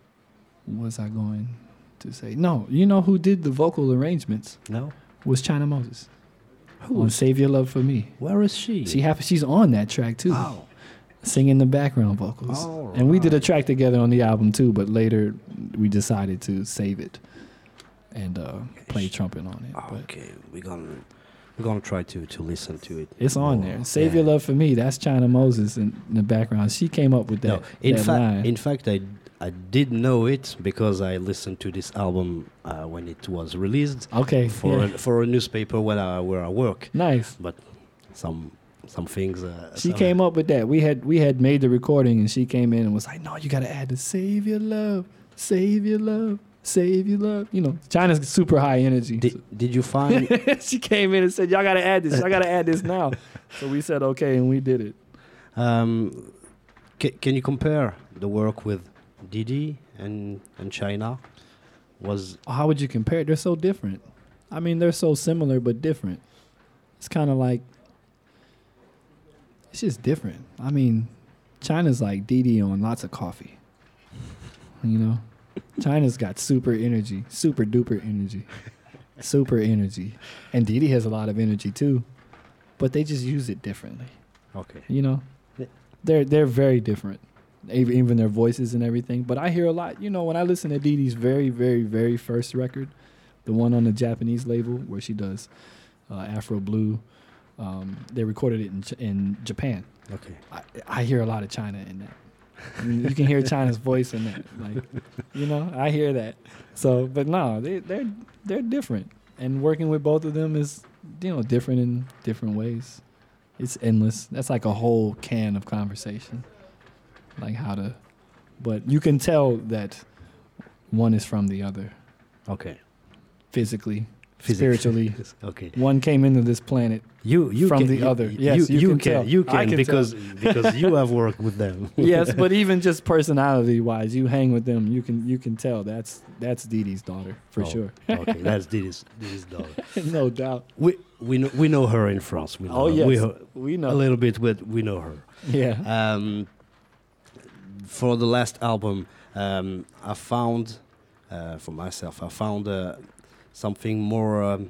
was I going to say? No, you know who did the vocal arrangements No. was China Moses. Who? On Save Your Love for Me. Where is she? She happens, she's on that track too. Oh. singing the background vocals. All And we did a right. track together on the album too, but later we decided to save it and uh, play trumpet on it. But Okay, we're gonna we're gonna try to to listen to it. it's on more. there. Save Yeah. Your Love for Me. That's China Moses in, in the background. She came up with that. No, in that fact, line. in fact, I I did know it because I listened to this album uh, when it was released okay. for yeah. a, for a newspaper where I where I work. Nice. But some some things. Uh, She some- came up with that. We had we had made the recording, and she came in and was like, "No, you got to add the Save Your Love, Save Your Love, Save Your Love." You know, China's super high energy. Did, did you find? She came in and said, "Y'all got to add this. Y'all got to add this now." So we said, "Okay," and we did it. um, ca- can you compare the work with Didi and and China? Was How would you compare it? They're so different. I mean, they're so similar but different. It's kind of like it's just different. I mean, China's like Didi on lots of coffee. You know, China's got super energy, super duper energy, super energy, and Didi has a lot of energy too, but they just use it differently. okay. You know, Yeah. they're they're very different, even even their voices and everything. But I hear a lot. You know, when I listen to Didi's very very very first record, the one on the Japanese label where she does uh, Afro Blue, um, they recorded it in J- in Japan. Okay. I, I hear a lot of China in that. I mean, you can hear China's voice in that, like, you know, I hear that. So, but no, they they're they're different, and working with both of them is, you know, different in different ways. It's endless. That's like a whole can of conversation, like how to, but you can tell that one is from the other, Okay. physically, Physics. spiritually. Okay. One came into this planet. You you From can, the you- other. You, Yes, you you can can tell. you I can, can because because you have worked with them. Yes, but even just personality wise, you hang with them, you can you can tell that's that's Didi's daughter for Oh, sure. Okay, that's Didi's Didi's daughter. No doubt. We we know we know her in France. We know Oh her. yes, we, we, a know. little bit, but we know her. Yeah. Um, for the last album, um, I found, uh, for myself, I found uh, something more, um,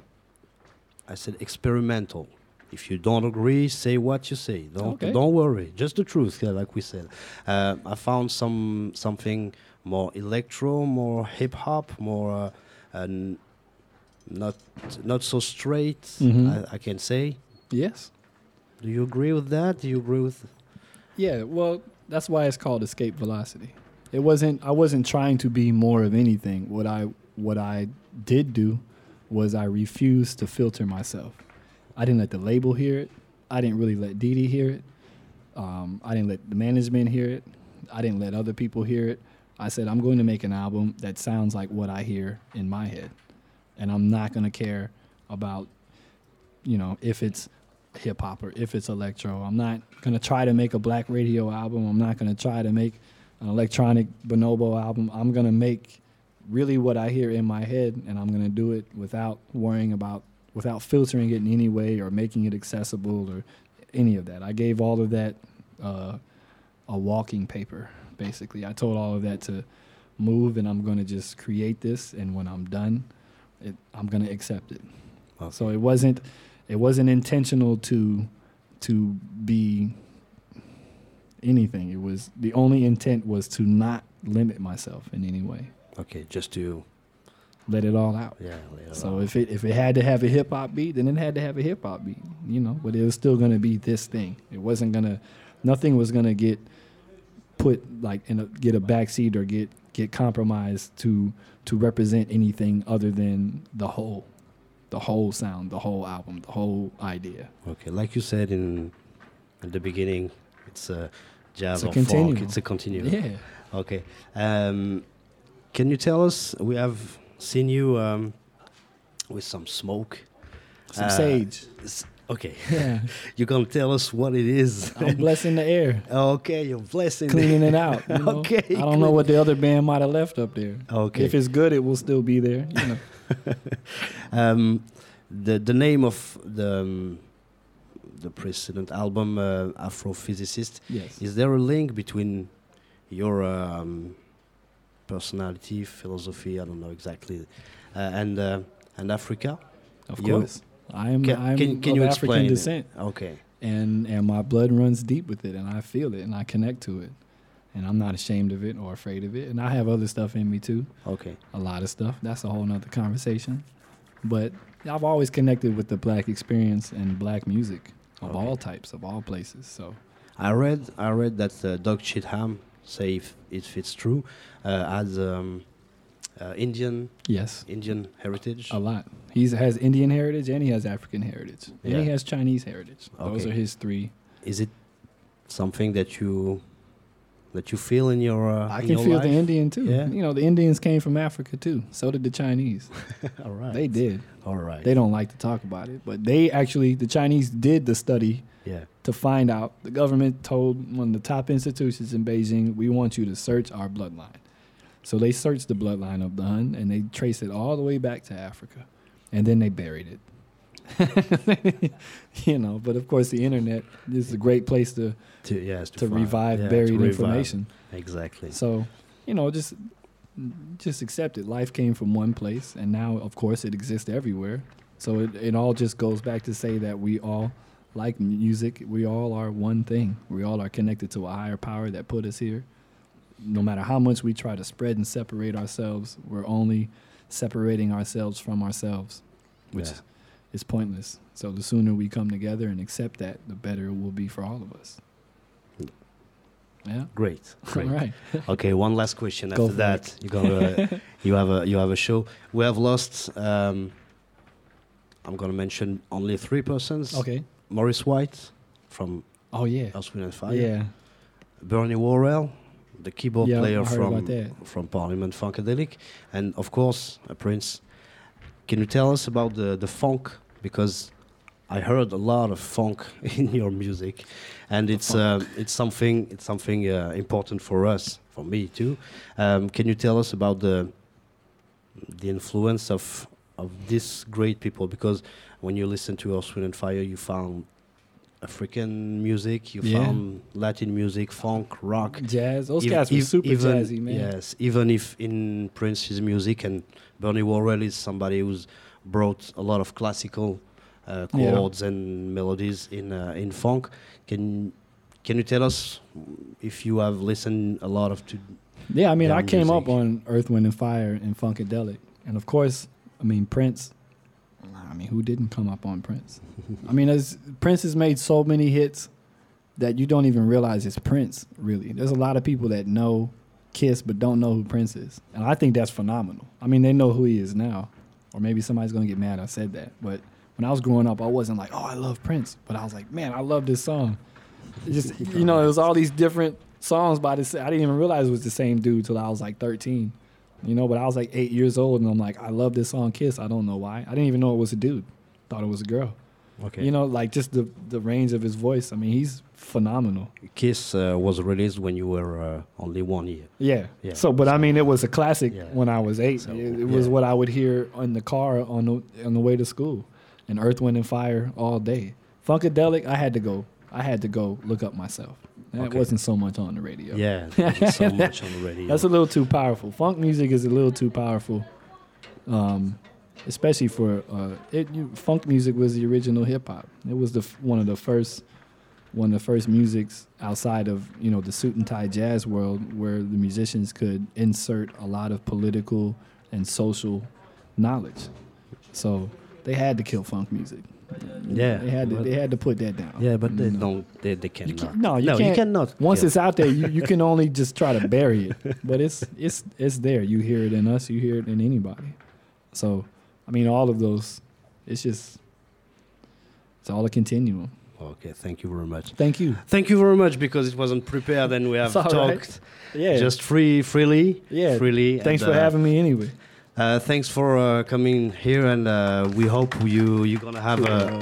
I said, experimental. If you don't agree, say what you say. Don't Okay. don't worry, just the truth, yeah, like we said. Uh, I found some something more electro, more hip hop, more uh, and not not so straight. Mhm. I, I can say. Yes. Do you agree with that? Do you agree with? Yeah. Well, that's why it's called Escape Velocity. It wasn't. I wasn't trying to be more of anything. What I what I did do was I refused to filter myself. I didn't let the label hear it. I didn't really let Didi hear it. Um, I didn't let the management hear it. I didn't let other people hear it. I said, I'm going to make an album that sounds like what I hear in my head. And I'm not going to care about, you know, if it's hip hop or if it's electro. I'm not going to try to make a black radio album. I'm not going to try to make an electronic bonobo album. I'm going to make really what I hear in my head, and I'm going to do it without worrying about, without filtering it in any way or making it accessible or any of that. I gave all of that uh, a walking paper, basically. I told all of that to move, and I'm going to just create this, and when I'm done, it, I'm going to accept it. Okay. So it wasn't it wasn't intentional to to be anything. It was, the only intent was to not limit myself in any way. Okay, just to Let it all out. yeah. later So on. if it if it had to have a hip hop beat, then it had to have a hip hop beat, you know. But it was still gonna be this thing. It wasn't gonna, nothing was gonna get put like in a get a backseat or get get compromised to to represent anything other than the whole, the whole sound, the whole album, the whole idea. Okay, like you said in at the beginning, it's a jazz It's a or continuum. folk. It's a continuum. Yeah. Okay. Um, can you tell us? We have seen you um, with some smoke. Some Uh, sage. s- Okay. Yeah. You gonna tell us what it is? I'm blessing the air, Okay, you're blessing. cleaning it out. You know? Okay, I don't know what the other band might have left up there. Okay. If it's good, it will still be there. You know. um, the the name of the um, the precedent album, uh, Afrophysicist. Yes. Is there a link between your um, personality, philosophy? I don't know exactly, uh, and uh, and Africa. Of You- course. I am Can, I'm can, can of you African explain? descent. Okay. and and my blood runs deep with it, and I feel it, and I connect to it, and I'm not ashamed of it or afraid of it. And I have other stuff in me too, Okay. a lot of stuff. That's a whole nother conversation. But I've always connected with the black experience and black music of Okay. all types, of all places. So I read I read that uh, Doug Chitham, say if, if it's true, uh, has um, uh, Indian yes, Indian heritage. a lot. He has Indian heritage and he has African heritage, and Yeah. he has Chinese heritage. Those Okay. are his three. Is it something that you that you feel in your uh, I in can your feel life? the Indian too. Yeah. You know, the Indians came from Africa too. So did the Chinese. All right. They did. All right. They don't like to talk about it, but they actually, the Chinese did the study Yeah. to find out. The government told one of the top institutions in Beijing, we want you to search our bloodline. So they searched the bloodline of the Hun, and they traced it all the way back to Africa, and then they buried it. You know, but of course the internet is a great place to To, yes, to find- revive yeah, to buried revive. information. Exactly. So, you know, just just accept it. Life came from one place, and now, of course, it exists everywhere. So it, it all just goes back to say that we all like music. We all are one thing. We all are connected to a higher power that put us here. No matter how much we try to spread and separate ourselves, we're only separating ourselves from ourselves, which Yeah. is pointless. So the sooner we come together and accept that, the better it will be for all of us. Yeah. Great. Great. All right. Okay, one last question. Go After for that, you're gonna you have a you have a show. We have lost. Um, I'm gonna mention only three persons. Okay. Maurice White from Oh yeah. Earth, Wind and Fire. Yeah. Bernie Worrell, the keyboard Yeah, player I heard from about that. from Parliament Funkadelic, and of course uh, Prince. Can you tell us about the the funk? Because I heard a lot of funk in your music, and it's uh, it's something it's something uh, important for us, for me too. Um, can you tell us about the the influence of of these great people? Because when you listen to Earth, Wind and Fire, you found African music, you Yeah. found Latin music, funk, rock. Jazz. Those Ev- guys were ev- super even, jazzy, man. Yes, even if in Prince's music, and Bernie Worrell is somebody who's brought a lot of classical uh, Yeah. chords and melodies in uh, in funk. Can can you tell us if you have listened a lot of to? Yeah, I mean, their I came up music? on Earth, Wind, and Fire and Funkadelic. And of course, I mean, Prince. I mean, who didn't come up on Prince? I mean, as Prince has made so many hits that you don't even realize it's Prince, really. There's a lot of people that know Kiss but don't know who Prince is. And I think that's phenomenal. I mean, they know who he is now. Or maybe somebody's going to get mad I said that. But when I was growing up, I wasn't like, oh, I love Prince. But I was like, man, I love this song. It just, you know, it was all these different songs by this. I didn't even realize it was the same dude till I was like thirteen. You know, but I was like eight years old, and I'm like, I love this song Kiss. I don't know why. I didn't even know it was a dude. Thought it was a girl. Okay, You know, like just the, the range of his voice. I mean, he's phenomenal. Kiss uh, was released when you were uh, only one year. Yeah. Yeah. So, but I mean, it was a classic Yeah. when I was eight. So, it it was yeah. what I would hear on the car on the on the way to school, and Earth, Wind, and Fire all day. Funkadelic, I had to go. I had to go look up myself. That Okay. wasn't so much on the radio. Yeah, there's so much on the radio. That's a little too powerful. Funk music is a little too powerful, um, especially for uh, it. You, funk music was the original hip hop. It was the f- one of the first, one of the first musics outside of you know the suit and tie jazz world, where the musicians could insert a lot of political and social knowledge. So they had to kill funk music. Yeah, they had to. but- They had to put that down. Yeah, but they You know? don't. They, they You cannot. can't, no, you no, can't. you cannot. Once kill. it's out there, you, you can only just try to bury it. But it's it's it's there. You hear it in us. You hear it in anybody. So, I mean, all of those. It's just. It's all a continuum. Okay, thank you very much. Thank you. Thank you very much because it wasn't prepared and we have It's all right. talked Yeah. just free, freely. yeah. freely. Thanks and, for uh, having me. Anyway. Uh, thanks for uh, coming here, and uh, we hope you you're gonna have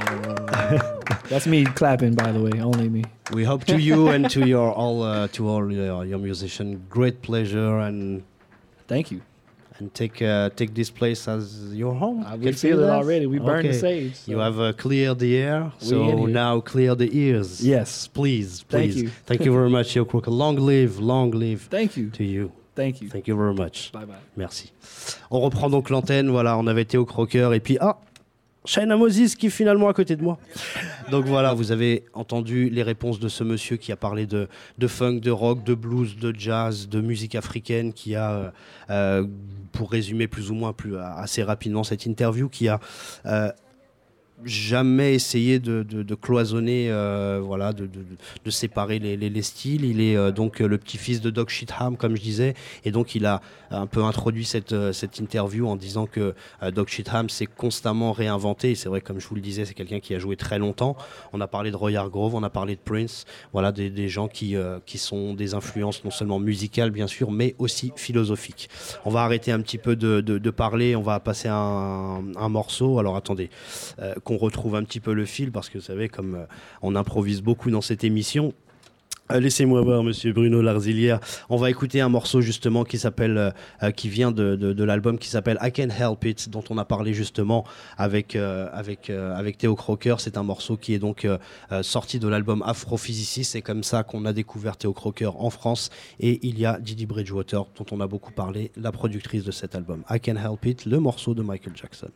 a. That's me clapping, by the way. Only me. We hope to you and to your all uh, to all your, your musician great pleasure and Thank you. and take uh, take this place as your home. Uh, Can we you say feel it that? already. We burned the Okay. sage. so- You have uh, cleared the air, We in so here. now clear the ears. Yes. please, Thank please. you. Thank you very much, Yo Crook. Long live, long live Thank you. to you. Thank you. Thank you very much. Bye bye. Merci. On reprend donc l'antenne. Voilà, on avait été au croqueur et puis ah, China Moses qui est finalement à côté de moi. Donc voilà, vous avez entendu les réponses de ce monsieur qui a parlé de, de funk, de rock, de blues, de jazz, de musique africaine, qui a, euh, pour résumer plus ou moins plus, assez rapidement cette interview, qui a euh, jamais essayé de, de, de cloisonner, euh, voilà, de, de, de séparer les, les, les styles. Il est euh, donc le petit-fils de Doc Sheetham, comme je disais, et donc il a un peu introduit cette, euh, cette interview en disant que euh, Doc Sheetham s'est constamment réinventé. Et c'est vrai, comme je vous le disais, c'est quelqu'un qui a joué très longtemps. On a parlé de Roy Hargrove, on a parlé de Prince, voilà, des, des gens qui, euh, qui sont des influences non seulement musicales, bien sûr, mais aussi philosophiques. On va arrêter un petit peu de, de, de parler, on va passer à un, un morceau. Alors attendez, euh, qu'on retrouve un petit peu le fil, parce que vous savez, comme euh, on improvise beaucoup dans cette émission. Euh, laissez-moi voir, monsieur Bruno Larzilière. On va écouter un morceau justement qui s'appelle, euh, qui vient de, de, de l'album qui s'appelle I Can't Help It, dont on a parlé justement avec, euh, avec, euh, avec Theo Crocker. C'est un morceau qui est donc euh, euh, sorti de l'album Afrophysicist. C'est comme ça qu'on a découvert Theo Crocker en France. Et il y a Didi Bridgewater, dont on a beaucoup parlé, la productrice de cet album. I Can't Help It, le morceau de Michael Jackson.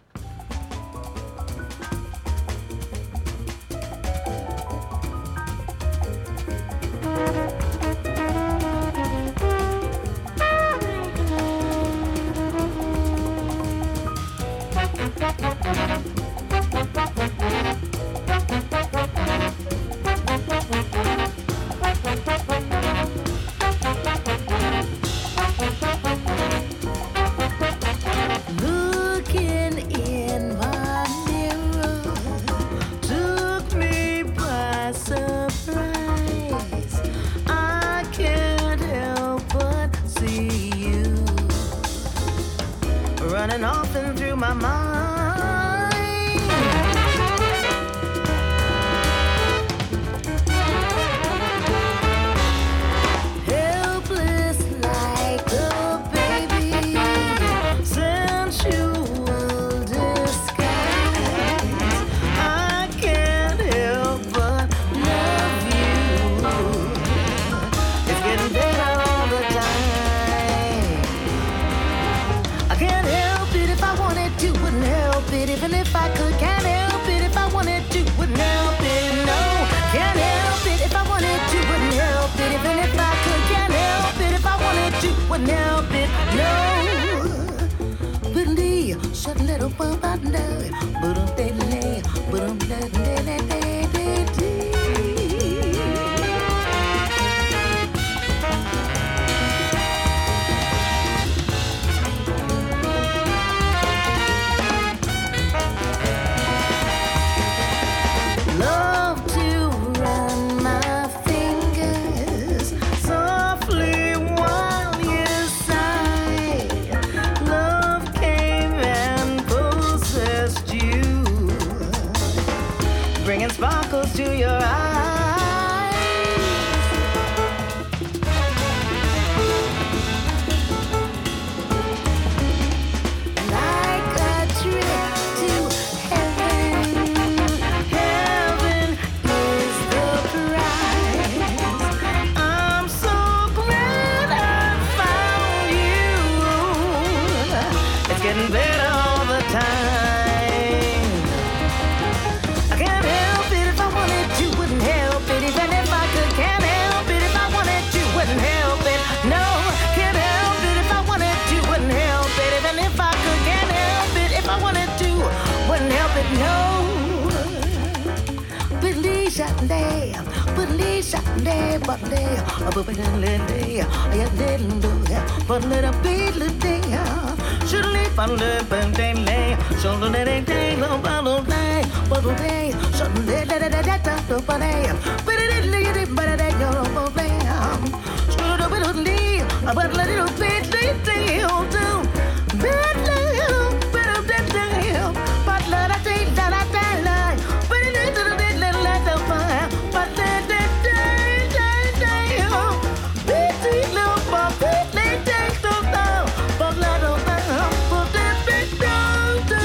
Running off and through my mind. Helpless like a baby, sensual disguise. I can't help but love you. It's getting better all the time. I can't help it if I wanted to, wouldn't help it. Even if I could, can't help it if I wanted to, wouldn't help it. No, can't help it if I wanted to, wouldn't help it. Even if I could, can't help it if I wanted to, wouldn't help it. No, believe, shut little bump out there, but I'm dead, but I'm dead, dead, dead, dead, dead, dead. Love to run my fingers softly while you sigh. Love came and possessed you, bringing sparkles to your eyes. Like a trip to heaven. Heaven is the prize. I'm so glad I found you. It's getting better all the time. I can't help it if I wanted to, wouldn't help it. Even if I could, can't help it if I wanted to, wouldn't help it. No, can't help it if I wanted to, wouldn't help it. Even if I could, can't help it if I wanted to, wouldn't help it. No. Believe Sunday, believe Sunday, but day, a booby day, I didn't do it, but let a beat the day. Should leave on the day, so let it day, no bottle day, bottle day, so let it let it up the day, but it lead it, but it ain't no play. Should have been leave, but let it beat the day, do. Bad little bit of that day, but let it take that I die, but it is a little let the fire, but let it day, day, day, beat the little ball, beat the day, so down, but let it down, but it beat down to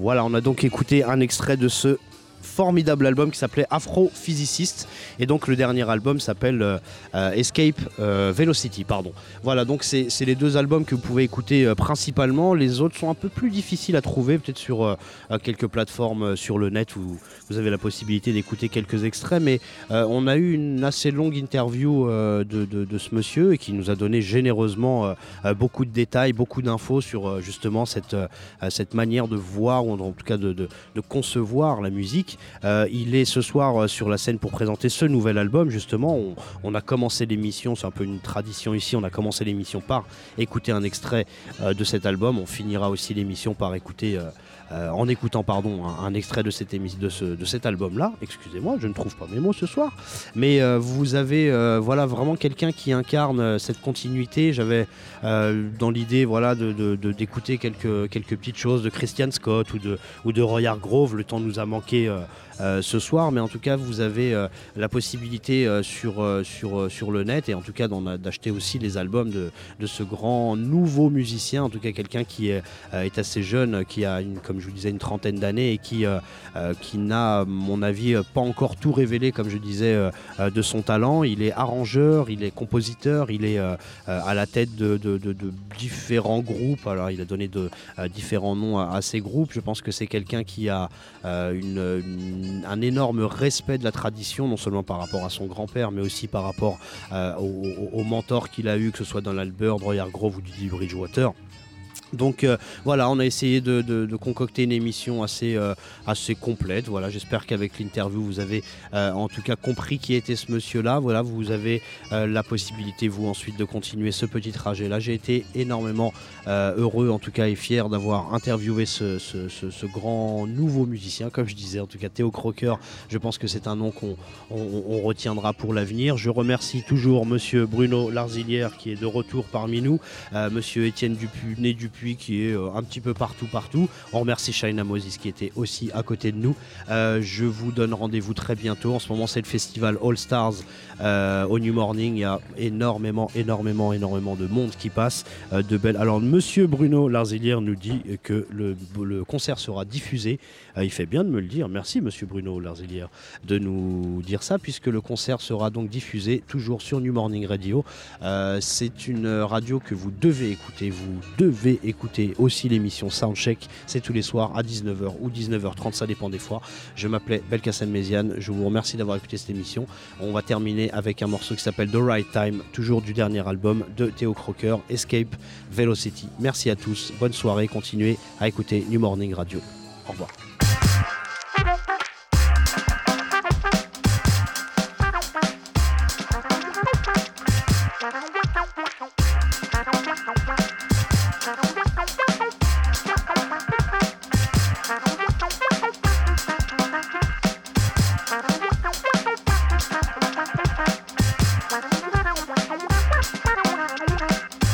Voilà, on a donc écouté un extrait de ce formidable album qui s'appelait Afrophysicist, et donc le dernier album s'appelle euh, euh, Escape euh, Velocity, pardon. Voilà, donc c'est, c'est les deux albums que vous pouvez écouter euh, principalement. Les autres sont un peu plus difficiles à trouver, peut-être sur euh, quelques plateformes euh, sur le net où vous avez la possibilité d'écouter quelques extraits, mais euh, on a eu une assez longue interview euh, de, de, de ce monsieur, et qui nous a donné généreusement euh, beaucoup de détails, beaucoup d'infos sur euh, justement cette, euh, cette manière de voir, ou en tout cas de, de, de concevoir la musique. Euh, il est ce soir euh, sur la scène pour présenter ce nouvel album. Justement, on, on a commencé l'émission, c'est un peu une tradition ici, on a commencé l'émission par écouter un extrait euh, de cet album. On finira aussi l'émission par écouter euh, euh, en écoutant pardon, un, un extrait de, cette émi- de, ce, de cet album-là. Excusez-moi, je ne trouve pas mes mots ce soir. Mais euh, vous avez euh, voilà, vraiment quelqu'un qui incarne euh, cette continuité. J'avais euh, dans l'idée voilà, de, de, de, d'écouter quelques, quelques petites choses de Christian Scott ou de, ou de Roy Hargrove. Le temps nous a manqué euh, euh, ce soir, mais en tout cas vous avez euh, la possibilité euh, sur, euh, sur, euh, sur le net, et en tout cas d'en, d'acheter aussi les albums de, de ce grand nouveau musicien, en tout cas quelqu'un qui est, euh, est assez jeune, qui a une, comme je vous disais, une trentaine d'années, et qui, euh, euh, qui n'a, à mon avis, pas encore tout révélé, comme je disais, euh, de son talent. Il est arrangeur, il est compositeur, il est euh, à la tête de, de, de, de différents groupes. Alors il a donné de, euh, différents noms à, à ces groupes. Je pense que c'est quelqu'un qui a euh, une, une un énorme respect de la tradition, non seulement par rapport à son grand-père, mais aussi par rapport euh, aux, aux mentors qu'il a eu, que ce soit dans l'Albert, Roy Hargrove ou Didi Bridgewater. Donc euh, voilà, on a essayé de, de, de concocter une émission assez, euh, assez complète. Voilà, j'espère qu'avec l'interview vous avez euh, en tout cas compris qui était ce monsieur-là. Voilà, vous avez euh, la possibilité vous ensuite de continuer ce petit trajet-là. J'ai été énormément euh, heureux en tout cas et fier d'avoir interviewé ce, ce, ce, ce grand nouveau musicien, comme je disais, en tout cas Theo Crocker. Je pense que c'est un nom qu'on on, on retiendra pour l'avenir. Je remercie toujours monsieur Bruno Larzilière qui est de retour parmi nous, euh, monsieur Étienne Dupuis, Dupuis qui est euh, un petit peu partout partout. On remercie Shaina Moses qui était aussi à côté de nous. Euh, je vous donne rendez-vous très bientôt. En ce moment c'est le festival All Stars euh, au New Morning. Il y a énormément énormément énormément de monde qui passe, euh, de belles. Alors monsieur Bruno Larzilière nous dit que le, le concert sera diffusé. Euh, il fait bien de me le dire. Merci monsieur Bruno Larzilière de nous dire ça, puisque le concert sera donc diffusé toujours sur New Morning Radio. Euh, c'est une radio que vous devez écouter. Vous devez écouter aussi l'émission Soundcheck. C'est tous les soirs à dix-neuf heures ou dix-neuf heures trente, ça dépend des fois. Je m'appelais Belkacem Méziane. Je vous remercie d'avoir écouté cette émission. On va terminer avec un morceau qui s'appelle The Right Time, toujours du dernier album de Theo Crocker, Escape Velocity. Merci à tous. Bonne soirée. Continuez à écouter New Morning Radio. Au revoir.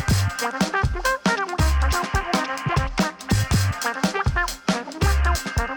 Bye.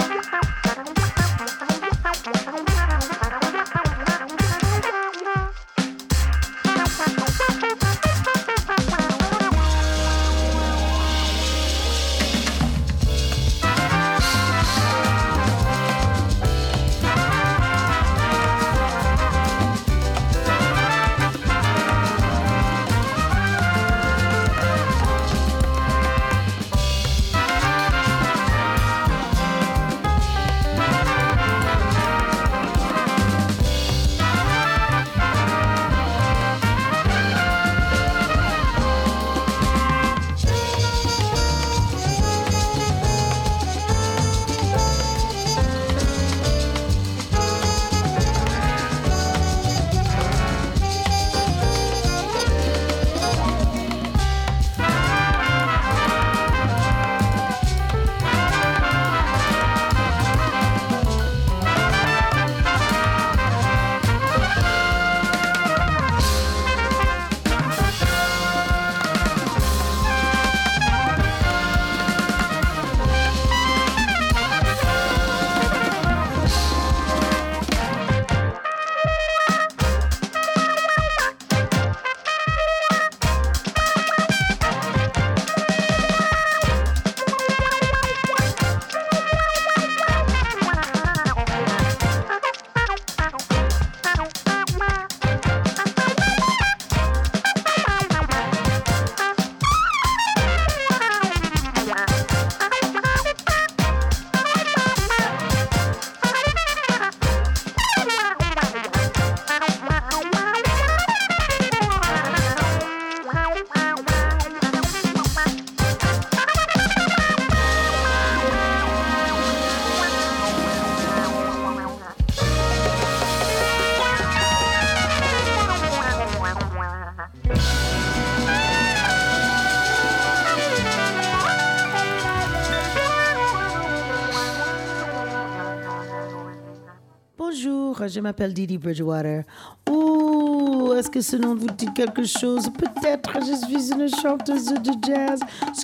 je m'appelle Didi Bridgewater. Ouh, est-ce que ce nom vous dit quelque chose? Peut-être je suis une chanteuse de jazz.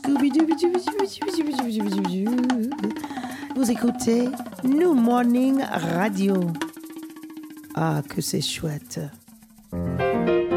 Scooby-Doo. Vous écoutez New Morning Radio. Ah, que c'est chouette.